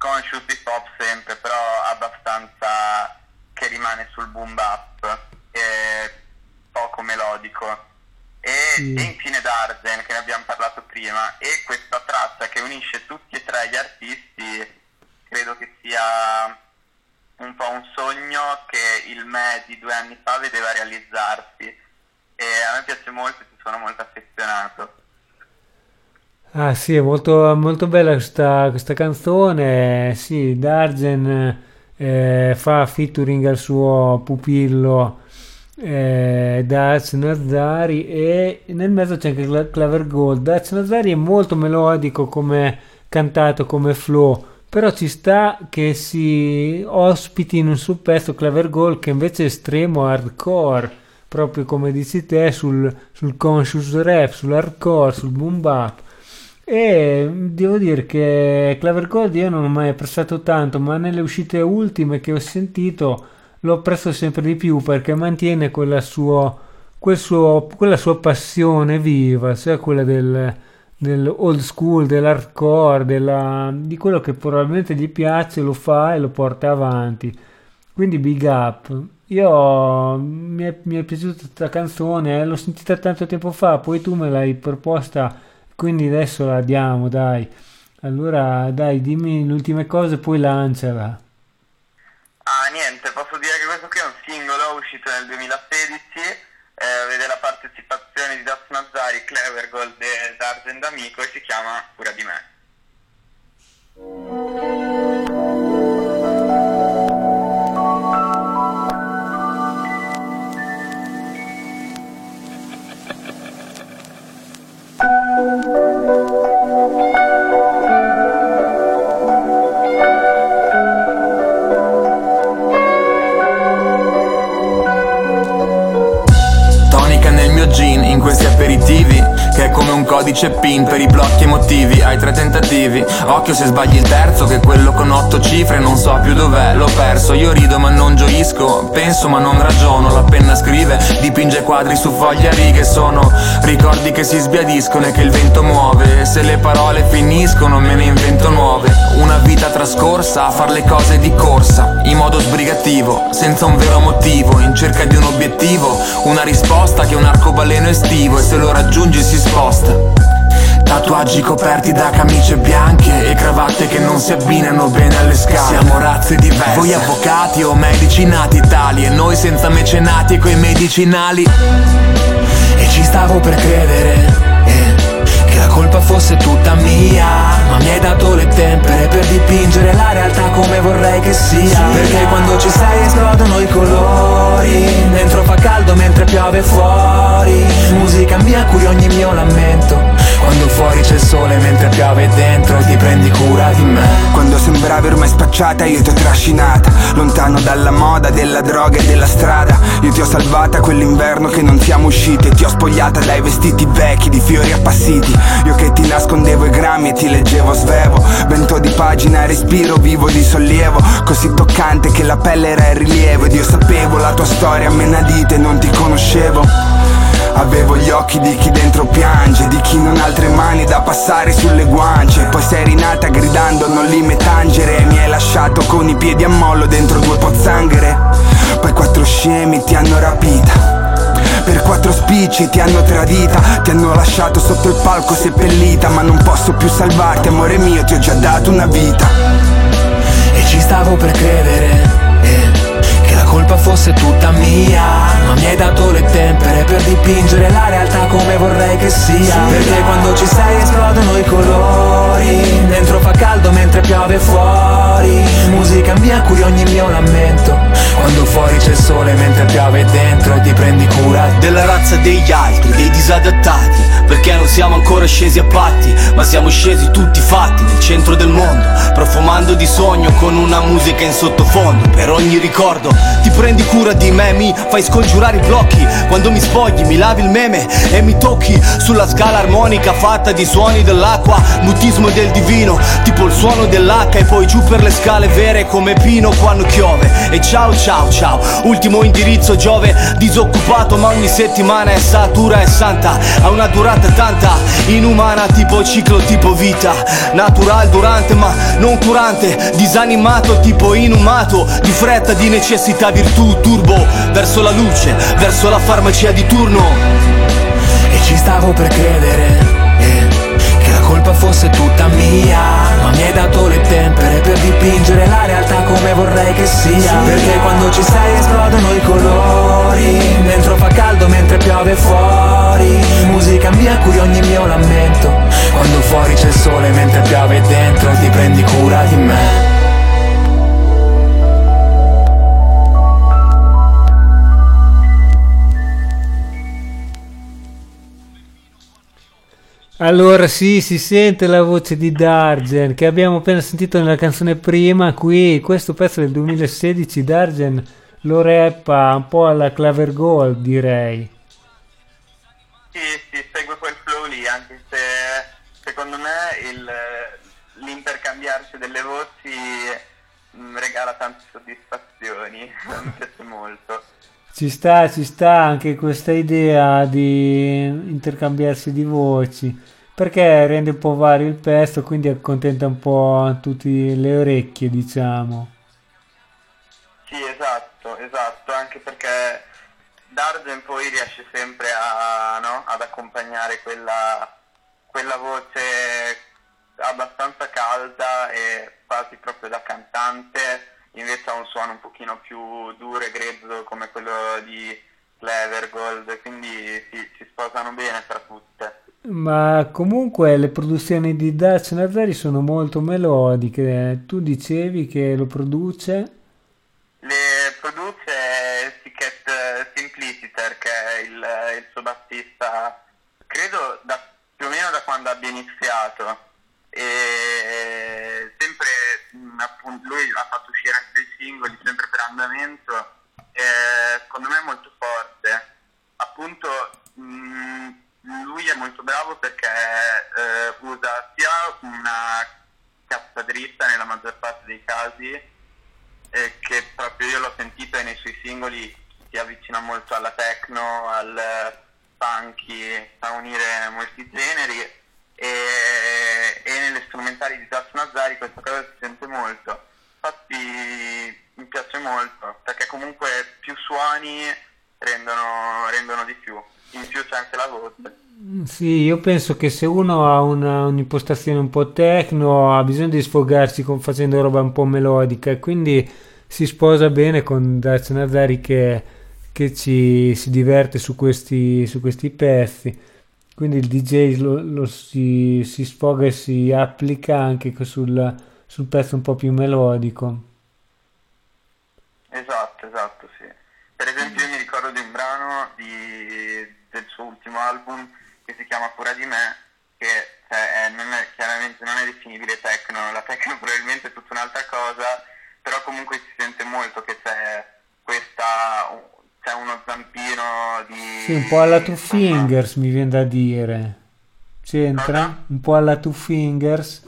conscious hip hop sempre, però abbastanza che rimane sul boom bap, e poco melodico. E, Sì. e infine Dargen, che ne abbiamo parlato prima, e questa traccia che unisce tutti e tre gli artisti credo che sia un po' un sogno che il me di due anni fa vedeva realizzarsi, e a me piace molto e ci sono molto affezionato. Ah sì, è molto, molto bella questa, questa canzone. Sì, Dargen eh, fa featuring al suo pupillo eh, Daz Nazari, e nel mezzo c'è anche Cla- Claver Gold. Daz Nazari è molto melodico come cantato, come flow, però ci sta che si ospiti in un suo pezzo Claver Gold, che invece è estremo hardcore, proprio come dici te, sul, sul conscious rap, sull'hardcore, sul boom bap. E devo dire che Claver Gold io non ho mai apprezzato tanto, ma nelle uscite ultime che ho sentito lo apprezzo sempre di più, perché mantiene quella, suo, quel suo, quella sua passione viva, cioè quella del, del old school, dell'hardcore, della, di quello che probabilmente gli piace, lo fa e lo porta avanti. Quindi big up. Io mi è, mi è piaciuta questa canzone, eh, l'ho sentita tanto tempo fa, poi tu me l'hai proposta, quindi adesso la diamo, dai. Allora, dai, dimmi le ultime cose, poi lanciala. Ah, niente, posso dire che questo qui è un singolo uscito nel duemilasedici, eh, vede la partecipazione di Daz Nazari, Claver Gold e Dargen D'Amico, e si chiama Cura di me. Tonica nel mio gin, in questi aperitivi, che è come un codice PIN per i blocchi emotivi. Hai tre tentativi, occhio se sbagli il terzo, che quello con otto cifre non so più dov'è, l'ho perso. Io rido ma non gioisco, penso ma non ragiono. La penna scrive, dipinge quadri su foglie a righe. Sono ricordi che si sbiadiscono e che il vento muove. E se le parole finiscono me ne invento nuove. Una vita trascorsa a far le cose di corsa, in modo sbrigativo, senza un vero motivo, in cerca di un obiettivo, una risposta che è un arcobaleno estivo, e se lo raggiungi si sposta. Tatuaggi coperti da camicie bianche e cravatte che non si abbinano bene alle scale. Siamo razze diverse, voi avvocati o medici nati tali, e noi senza mecenati e coi medicinali. E ci stavo per credere eh, che la colpa fosse tutta mia, ma mi hai dato le tempere per dipingere la realtà come vorrei che sia. Perché quando ci sei esplodono i colori, dentro fa caldo mentre piove fuori. Musica mia curi ogni mio lamento, quando fuori c'è il sole mentre piove dentro, e ti prendi cura di me. Quando sembravi ormai spacciata io ti ho trascinata, lontano dalla moda, della droga e della strada. Io ti ho salvata quell'inverno che non siamo usciti, e ti ho spogliata dai vestiti vecchi di fiori appassiti. Io che ti nascondevo i grammi e ti leggevo svevo, vento di pagina, respiro vivo di sollievo, così toccante che la pelle era in rilievo. Ed io sapevo la tua storia a menadite e non ti conoscevo. Avevo gli occhi di chi dentro piange, di chi non ha altre mani da passare sulle guance. Poi sei rinata gridando non li me tangere, e mi hai lasciato con i piedi a mollo dentro due pozzanghere. Poi quattro scemi ti hanno rapita, per quattro spicci ti hanno tradita, ti hanno lasciato sotto il palco seppellita. Ma non posso più salvarti, amore mio, ti ho già dato una vita. E ci stavo per credere eh, che la colpa fosse tutta mia, ma mi hai dato le tempere per dipingere la realtà come vorrei che sia. Perché quando ci sei esplodono i colori, dentro fa caldo mentre piove fuori. Musica mia curi ogni mio lamento, quando fuori c'è il sole mentre piove dentro, e ti prendi cura della razza degli altri, dei disadattati. Perché non siamo ancora scesi a patti, ma siamo scesi tutti fatti nel centro del mondo, profumando di sogno con una musica in sottofondo. Per ogni ricordo ti prendi cura di me, mi fai scongiurare i blocchi. Quando mi spogli, mi lavi il meme e mi tocchi sulla scala armonica fatta di suoni dell'acqua, mutismo del divino, tipo il suono dell'H. E poi giù per le scale vere come Pino quando piove. E ciao ciao ciao, ultimo indirizzo Giove, disoccupato ma ogni settimana è satura e santa. Ha una durata tanta, inumana, tipo ciclo, tipo vita. Natural durante ma non curante, disanimato tipo inumato, di fretta, di necessità, virtù, turbo, verso la luce, verso la farmacia di turno. E ci stavo per credere, eh, che la colpa fosse tutta mia, ma mi hai dato le tempere per dipingere la realtà come vorrei che sia. Perché quando ci sei esplodono i colori, dentro fa caldo mentre piove fuori. Musica mia cui ogni mio lamento, quando fuori c'è il sole mentre piove dentro, ti prendi cura di me. Allora sì, si sente la voce di Dargen che abbiamo appena sentito nella canzone prima. Qui questo pezzo del duemilasedici Dargen lo rappa un po' alla Claver Gold, direi. Sì, sì, segue quel flow lì, anche se secondo me il, l'intercambiarsi delle voci mh, regala tante soddisfazioni, mi piace molto. Ci sta, ci sta anche questa idea di intercambiarsi di voci, perché rende un po' vario il pezzo, quindi accontenta un po' tutte le orecchie, diciamo. Sì, esatto, esatto, anche perché Dargen poi riesce sempre a, no, ad accompagnare quella, quella voce abbastanza calda e quasi proprio da cantante. Invece ha un suono un pochino più duro e grezzo come quello di Clevergold, quindi sì, si sposano bene tra tutte. Ma comunque le produzioni di Dutch Nazari sono molto melodiche. Tu dicevi che lo produce? Le produce Sicket Simpliciter, che è il, il suo bassista, credo da, più o meno da quando abbia iniziato. E sempre appunto lui ha fatto uscire anche dei singoli sempre per andamento, e secondo me è molto forte. Appunto mh, lui è molto bravo perché eh, usa sia una cassa dritta nella maggior parte dei casi, eh, che proprio io l'ho sentito e nei suoi singoli si avvicina molto alla techno, al funky, sa unire molti generi. E, e nelle strumentali di Dutch Nazari questa cosa si sente molto. Infatti mi piace molto perché comunque più suoni rendono, rendono di più, in più c'è anche la voce. Sì, io penso che se uno ha una, un'impostazione un po' techno ha bisogno di sfogarsi con, facendo roba un po' melodica, e quindi si sposa bene con Dutch Nazari che, che ci si diverte su questi, su questi pezzi. Quindi il D J lo, lo si, si sfoga e si applica anche sul, sul pezzo un po' più melodico. Esatto, esatto, sì. Per esempio io mi ricordo di un brano di, del suo ultimo album che si chiama Cura di me, che cioè, è, non è, chiaramente non è definibile techno, la techno probabilmente è tutta un'altra cosa, però comunque si sente molto che c'è questa... c'è uno zampino di... Sì, un po' alla Two Fingers mi viene da dire. C'entra? Cosa? Un po' alla Two Fingers?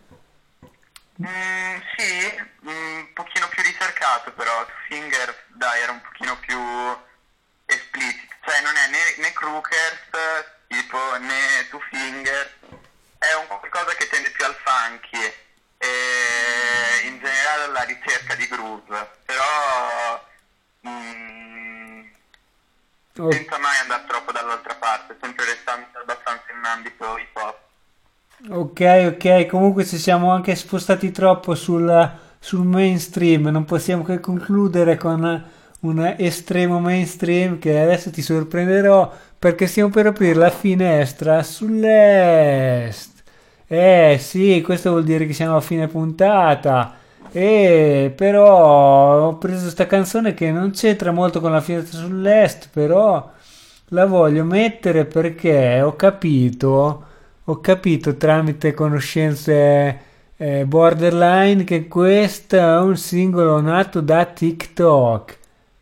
Mm, sì, un pochino più ricercato però. Two Fingers, dai, era un pochino più esplicito. Cioè non è né, né Crookers, tipo, né Two Fingers. È un qualcosa che tende più al funky e in generale alla ricerca di groove. Però... Mm, senza mai andare troppo dall'altra parte, sempre restando abbastanza in ambito hip hop. Ok, ok, comunque ci siamo anche spostati troppo sul, sul mainstream, non possiamo che concludere con un estremo mainstream che adesso ti sorprenderò perché stiamo per aprire la finestra sull'est. Eh sì, questo vuol dire che siamo a fine puntata. E però ho preso sta canzone che non c'entra molto con la finestra sull'est, però la voglio mettere perché ho capito, ho capito tramite conoscenze eh, borderline che questo è un singolo nato da TikTok.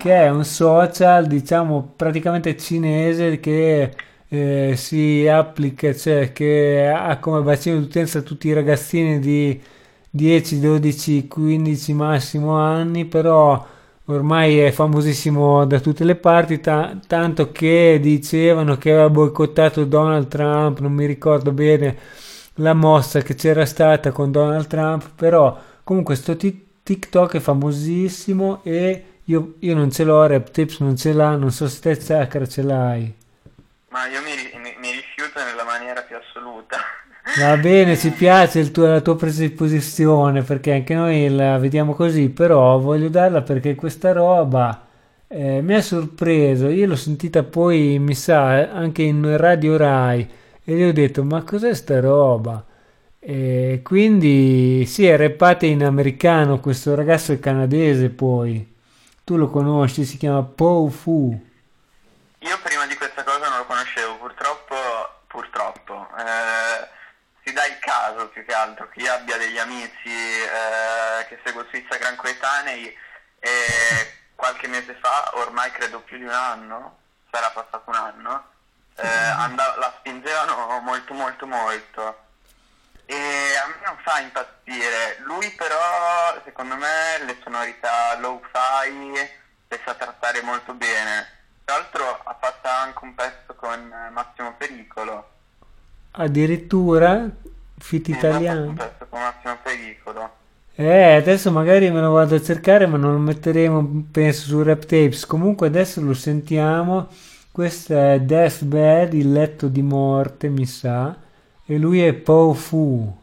che è un social, diciamo, praticamente cinese che eh, si applica, cioè che ha come bacino d'utenza tutti i ragazzini di dieci, dodici, quindici massimo anni, però ormai è famosissimo da tutte le parti, ta- tanto che dicevano che aveva boicottato Donald Trump, non mi ricordo bene la mossa che c'era stata con Donald Trump, però comunque sto ti- TikTok è famosissimo e io, io non ce l'ho, Rap Tips non ce l'ha, non so se te Zaccara ce l'hai. Ma io mi, ri- mi- mi rifiuto nella maniera più assoluta. Va bene, ci piace il tuo- la tua presa di posizione perché anche noi la vediamo così, però voglio darla perché questa roba eh, mi ha sorpreso. Io l'ho sentita poi, mi sa, anche in Radio Rai e gli ho detto: ma cos'è sta roba? E quindi sì, è rappata in americano. Questo ragazzo è canadese, poi tu lo conosci, si chiama Pow Fu. Io prima di questa cosa non lo conoscevo, purtroppo, purtroppo. Eh, si dà il caso più che altro che io abbia degli amici eh, che seguo su Instagram coetanei e qualche mese fa, ormai credo più di un anno, sarà passato un anno, eh, andav- la spingevano molto molto molto e a me non fa impazzire. Lui però, secondo me, le sonorità low-fi le sa trattare molto bene. Tra l'altro ha fatto anche un pezzo con Massimo Pericolo. Addirittura fit Sì, ha fatto un italiano. pezzo con Massimo Pericolo. Eh, adesso magari me lo vado a cercare, ma non lo metteremo, penso, su Rap Tapes. Comunque adesso lo sentiamo. Questo è Deathbed, il letto di morte, mi sa. E lui è Pow Fu.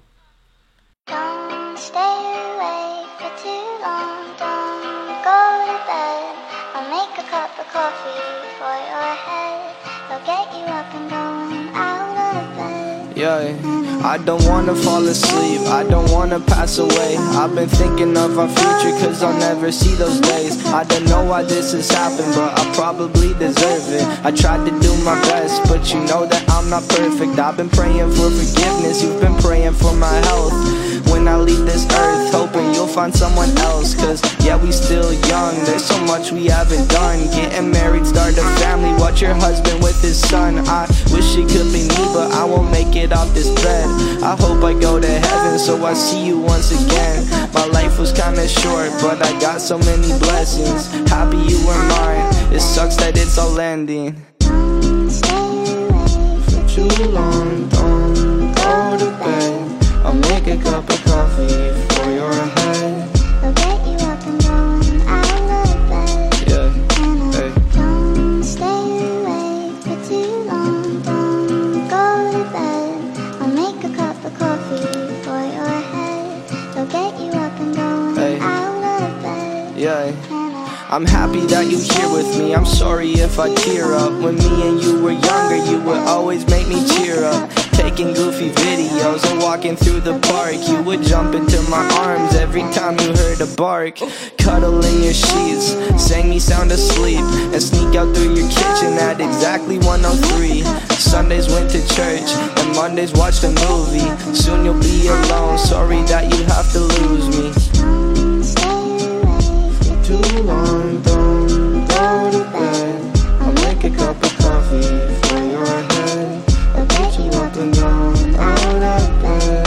Don't stay awake for too long. Don't go to bed. I'll make a cup of coffee for your head. I'll get you up and going out of bed. Yeah, I don't wanna fall asleep, I don't wanna pass away. I've been thinking of our future cause I'll never see those days. I don't know why this has happened, but I probably deserve it. I tried to do my best, but you know that I'm not perfect. I've been praying for forgiveness, you've been praying for my health. When I leave this earth, hoping you'll find someone else. Cause yeah, we still young, there's so much we haven't done. Getting married, start a family, watch your husband with his son. I wish it could be me, but I won't make it off this bed. I hope I go to heaven, so I see you once again. My life was kinda short, but I got so many blessings. Happy you were mine, it sucks that it's all ending. For too long, don't go to bed. I'll make a cup of coffee for your head. I'll get you up and going out of bed. Yeah, hey. Don't stay awake for too long. Don't go to bed. I'll make a cup of coffee for your head. I'll get you up and going Hey. out of bed. Yeah, I'm happy that you're here with me. I'm sorry if I tear up. When me and you were younger, you would always make me cheer up. Taking goofy videos and walking through the park. You would jump into my arms every time you heard a bark. Cuddle in your sheets, sang me sound asleep, and sneak out through your kitchen at exactly one oh three. Sundays went to church, and Mondays watched a movie. Soon you'll be alone, sorry that you have to lose me. For too long, don't go to bed. I'll make a cup of coffee for your head. I'll get you up and down, out of bed.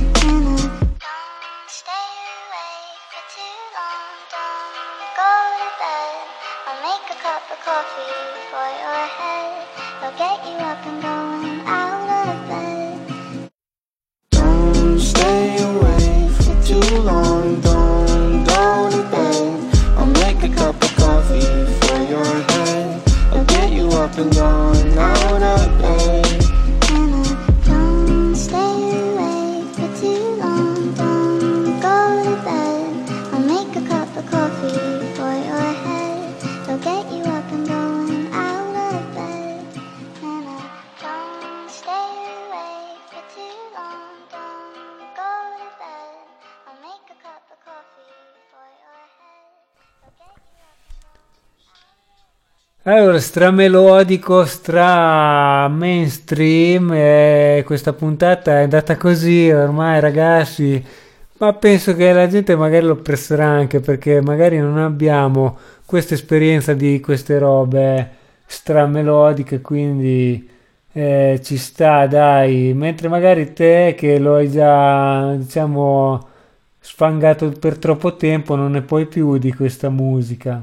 Stay awake for too long. Don't go to bed. I'll make a cup of coffee for your head. I'll get you up and going out of bed. Don't stay awake for too long, don't go to bed. I'll make a cup of coffee for your head. I'll get you up and down, out of bed. Don't stay awake for too long. Don't go to bed. I'll make a cup of coffee for your head. I'll get you up and going out of bed. Don't stay awake for too long. Don't go to bed. I'll make a cup of coffee for your head. I'll get you Allora, stramelodico, stra mainstream, e questa puntata è andata così, ormai ragazzi, Ma penso che la gente magari lo apprezzerà anche perché magari non abbiamo questa esperienza di queste robe stramelodiche, quindi eh, ci sta, dai. Mentre magari te che lo hai già, diciamo, sfangato per troppo tempo, non ne puoi più di questa musica.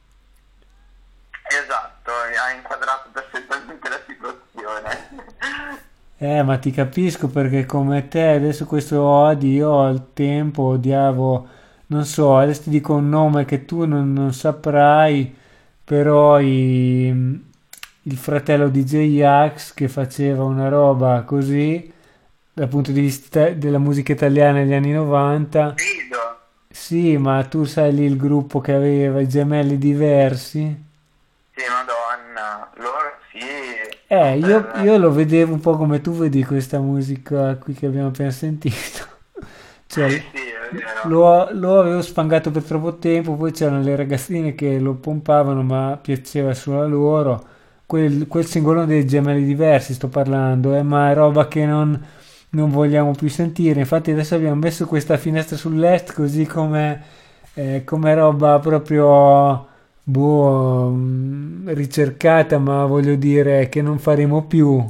Esatto, ha inquadrato perfettamente la situazione. Eh, ma ti capisco perché come te adesso questo odi, io al tempo odiavo, non so, adesso ti dico un nome che tu non, non saprai, però i- il fratello di J-Ax che faceva una roba così, dal punto di vista della musica italiana negli anni novanta. Sì, ma tu sai lì il gruppo che aveva i gemelli diversi? Sì, madonna, loro sì. Eh, io, io lo vedevo un po' come tu vedi questa musica qui che abbiamo appena sentito. Cioè, lo, lo avevo sfangato per troppo tempo, poi c'erano le ragazzine che lo pompavano, ma piaceva solo a loro. Quel, quel singolone dei gemelli diversi sto parlando, eh, ma è roba che non, non vogliamo più sentire. Infatti adesso abbiamo messo questa finestra sull'est così come, eh, come roba proprio boh, mm, ricercata, ma voglio dire che non faremo più.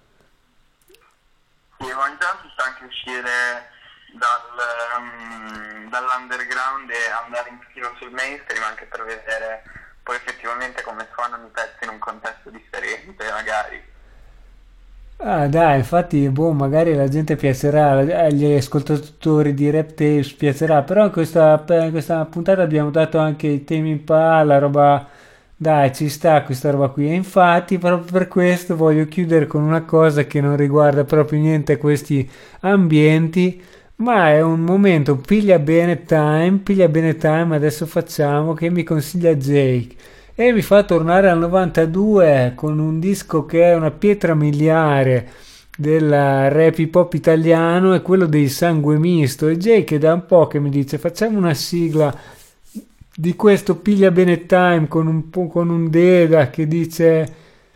Sì, ma intanto sta anche uscire dal, um, dall'underground e andare un pochino sul mainstream anche per vedere poi effettivamente come suonano i pezzi in un contesto differente, magari. Ah, dai, infatti, boh, magari la gente piacerà, agli ascoltatori di Rap Tapes piacerà, però in questa, per questa puntata abbiamo dato anche i temi in palla, roba, dai, ci sta questa roba qui. E infatti, proprio per questo voglio chiudere con una cosa che non riguarda proprio niente questi ambienti, ma è un momento piglia bene time, piglia bene time, adesso facciamo, che mi consiglia Jake. E mi fa tornare al novantadue con un disco che è una pietra miliare del rap hip hop italiano, è quello dei Sangue Misto. E Jake da un po' che mi dice facciamo una sigla di questo piglia bene time con un, po- con un Deda che dice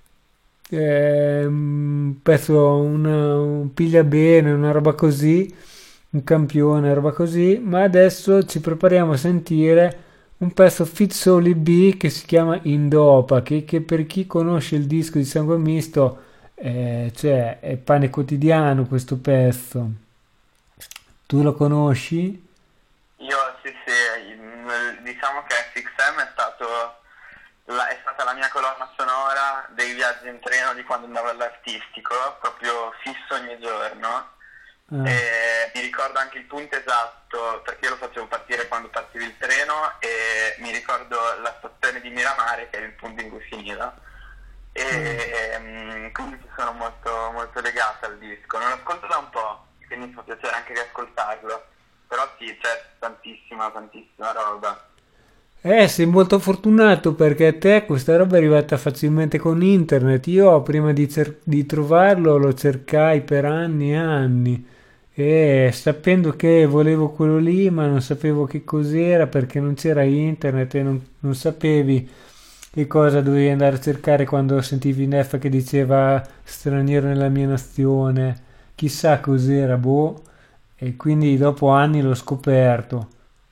eh, un pezzo, una, un piglia bene, una roba così, un campione, una roba così. Ma adesso ci prepariamo a sentire un pezzo Fit Soli B che si chiama Indopa, che, che per chi conosce il disco di Sangue Misto eh, cioè è pane quotidiano questo pezzo. Tu lo conosci? Io sì sì, il- diciamo che F X M è stato la, è stata la mia colonna sonora dei viaggi in treno di quando andavo all'artistico, proprio fisso ogni giorno. Ah. E mi ricordo anche il punto esatto perché io lo facevo partire quando partiva il treno e mi ricordo la stazione di Miramare che è il punto in cui finiva e mm, quindi ci sono molto, molto legato al disco. Non lo ascolto da un po', quindi mi fa piacere anche riascoltarlo, però sì, c'è tantissima, tantissima roba. Eh, sei molto fortunato perché a te questa roba è arrivata facilmente con internet. Io prima di, cer- di trovarlo lo cercai per anni e anni e sapendo che volevo quello lì ma non sapevo che cos'era perché non c'era internet e non, non sapevi che cosa dovevi andare a cercare quando sentivi Neff che diceva straniero nella mia nazione, chissà cos'era, boh, e quindi dopo anni l'ho scoperto.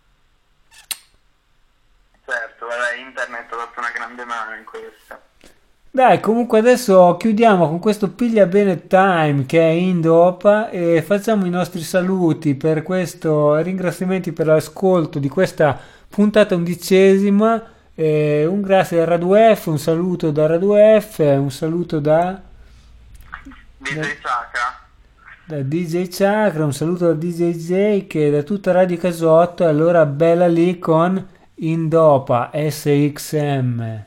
Certo, vabbè, internet ha dato una grande mano in questo. Dai, comunque adesso chiudiamo con questo piglia bene time che è Indopa e facciamo i nostri saluti per questo, ringraziamenti per l'ascolto di questa puntata undicesima, e un grazie a Radu F, un saluto da Radu F, un saluto da D J Chakra. da D J Chakra, un saluto da D J Jake e da tutta Radio Casotto. E allora bella lì con Indopa S X M.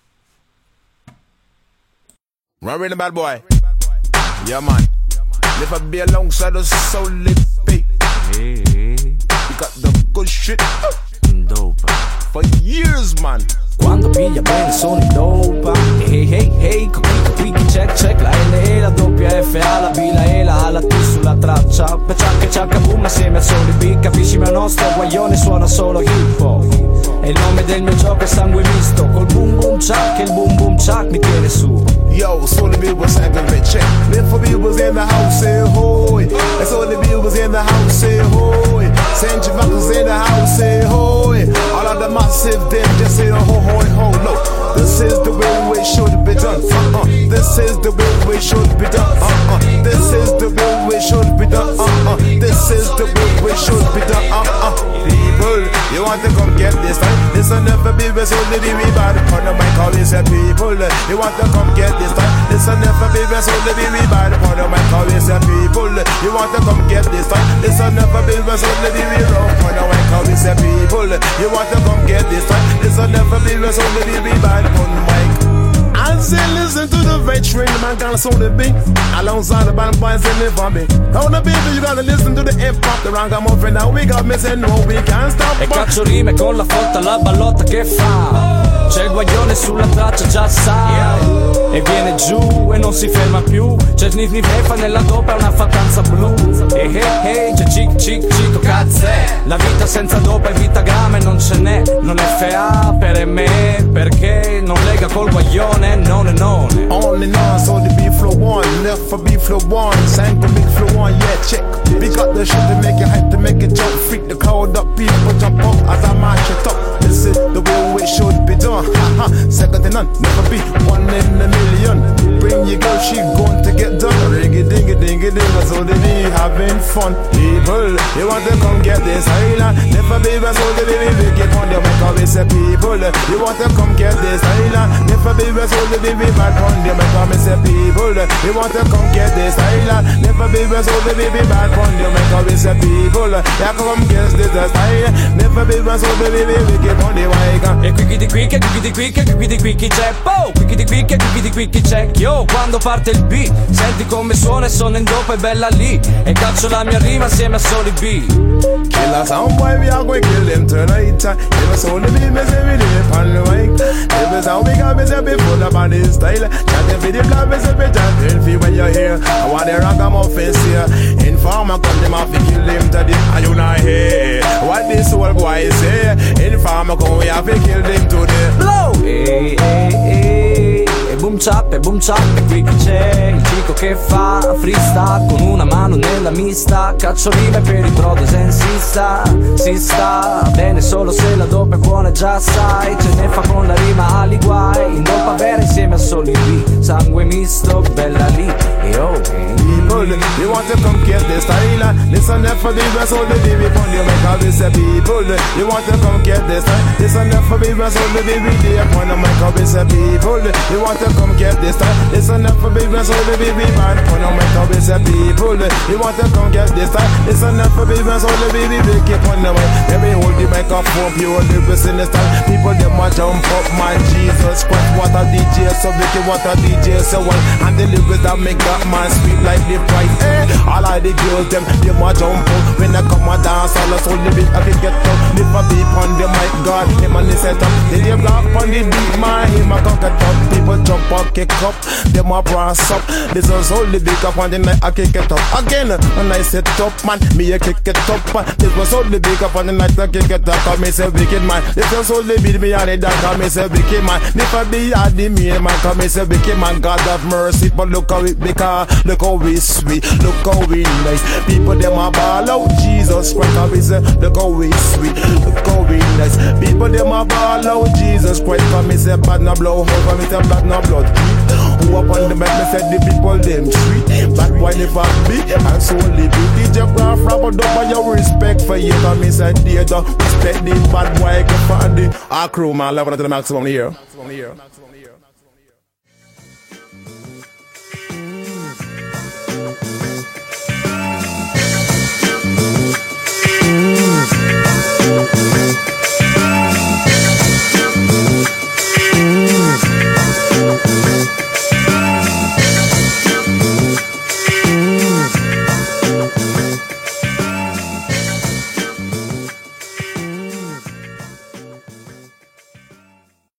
Run with the bad boy. Yeah, man. Live a be alongside us, so lit beat. We got the good shit. Dope. For years, man. Quando piglia bene sono in dopa. Hey hey hey, coprico tricky check check. La L E, la doppia F, A, la B, la E, la A, la T sulla traccia. Peciacca ciacca boom assieme a soli B. Capisci mio nostro guaglione suona solo hip hop. E il nome del mio gioco è sangue misto, col boom boom chuck, e il boom boom chuck mi tiene su. Yo, so the people sang a bit check. Live for people's in the house, say hoy. And so the people's in the house, say hoy. Centrivacals in the house, say hoy. All of the massive, them just say ho ho ho. No, this is the way it should be done. Uh-uh. This is the way it should be done. Uh-uh. This is the way it should be done. Uh-uh. This is the way it should be done. Uh-uh. People, you want to come get this time? This will never be resolved. The we bad upon the mic, all these people. You want to come get this time? This will never be resolved. The we bad upon the mic, all these people. You want to come get this time? This will never be resolved. The we rock upon the mic, all these people. You want to come get this time? This will never be resolved. The we bad upon the mic. I say listen to the veteran, the man kinda sound the beat. Alongside the band boys in the vomit. On the baby, you gotta listen to the hip hop, the ragamuffin. Now we got missing, no we can't stop. E caccio rime con la fotta, la ballotta che fa. C'è il guaglione sulla traccia, già sai. E viene giù e non si ferma più. C'è sniff sniff e fa nella dopa, è una fattanza blu. E hey hey, c'è cic cic cic, cazzè. La vita senza dopa è vita grama e non ce n'è. Non è F A per me, perché non lega col guaglione, non è non. On and on, so the beat flow one, left for beat flow one, sang for big flow one, yeah, check. We got the shit to make it hype, to make it jump, freak the crowd up, people jump up as I march it up. This is the way it should be done, ha ha, second to none, never be one in a million. Bring your girl, she going to get done. Ringy dingy dingy dingy, so they be having fun. People, you want to come get this island, never be so they be wicked on the mic, always say people. You want to come get this island, never be so they be bad on the mic, always say people. You want to come get this island, never be so they be bad on the mic, always say people. Yeah, come get this island, never be so they be wicked on the mic. E qui di qui che qui di qui che qui di qui chi c'è, po, qui di qui che qui di qui chi c'è. Yo, quando parte il beat, senti come suona e sono in dopo e bella lì. E caccio la mia rima assieme a soli B. Kill a sound boy, we are going to kill them tonight. If it's only me, me say we live on the mic. If it's how we got me say before the body style. Chanting for the blood, me say be chanting for when you're here. I want the ragamuffins here. Informer come them off to kill them today. And you not here. What this old boy say? Informer come we have to kill them today. Blow! Hey, hey, hey. E boom chap, e boom chap, e qui chi c'è? Il chico che fa freestyle con una mano nella mista. Caccio rime per i brothers and si sta, si sta bene solo se la dopa è buona, già sai. Ce ne fa con la rima ali guai. In dopa vera insieme a soli B. Sangue misto, bella lì. E oh, hey. People, you want to come get this style. Listen up for the rest of the baby upon you make all this people. You want to come get this style. Listen up for the rest of the baby day upon the mic all this people. You want to come get this style. Listen up for the rest of the baby man upon the mic all this people. You want to come get this style. Listen up for the rest of the baby big upon the mic. Every hold the microphone, pure lyrics in the style. People them want jump up, my Jesus Christ. What a D J so wicked, what a D J so well. And the lyrics that make that man speak like the price. Eh, all of the girls them, they want jump up. When they come and dance, all the soul the beat I can get up. Lift a beat on the mic, God, him and the set up. They they block on the beat, man, him a cock it up. People jump up, kick up, them a brass up. This is all the big up on the night I kick it up. Again, when I set up, man, me a kick it up. This was all the big up on the night I kick it up. Come me say wicked man. This was all the beat me on the dark. Come me say wicked man. If I be at the me man, come me say wicked man. God have mercy, but look how it because look how we sweet, look how we nice. People them a ball out, Jesus Christ. Come me say look how we sweet, look how we nice. People them a ball out, Jesus Christ. Come me say bad no blow, come me say bad no blood. Who up on the back, me say the people them sweet. Bad boy never be, and so live. D J Graf rap up on your respect for you. Come me say dear, respect the bad boy, go for the our crew man, level to the maximum here. Maximum here.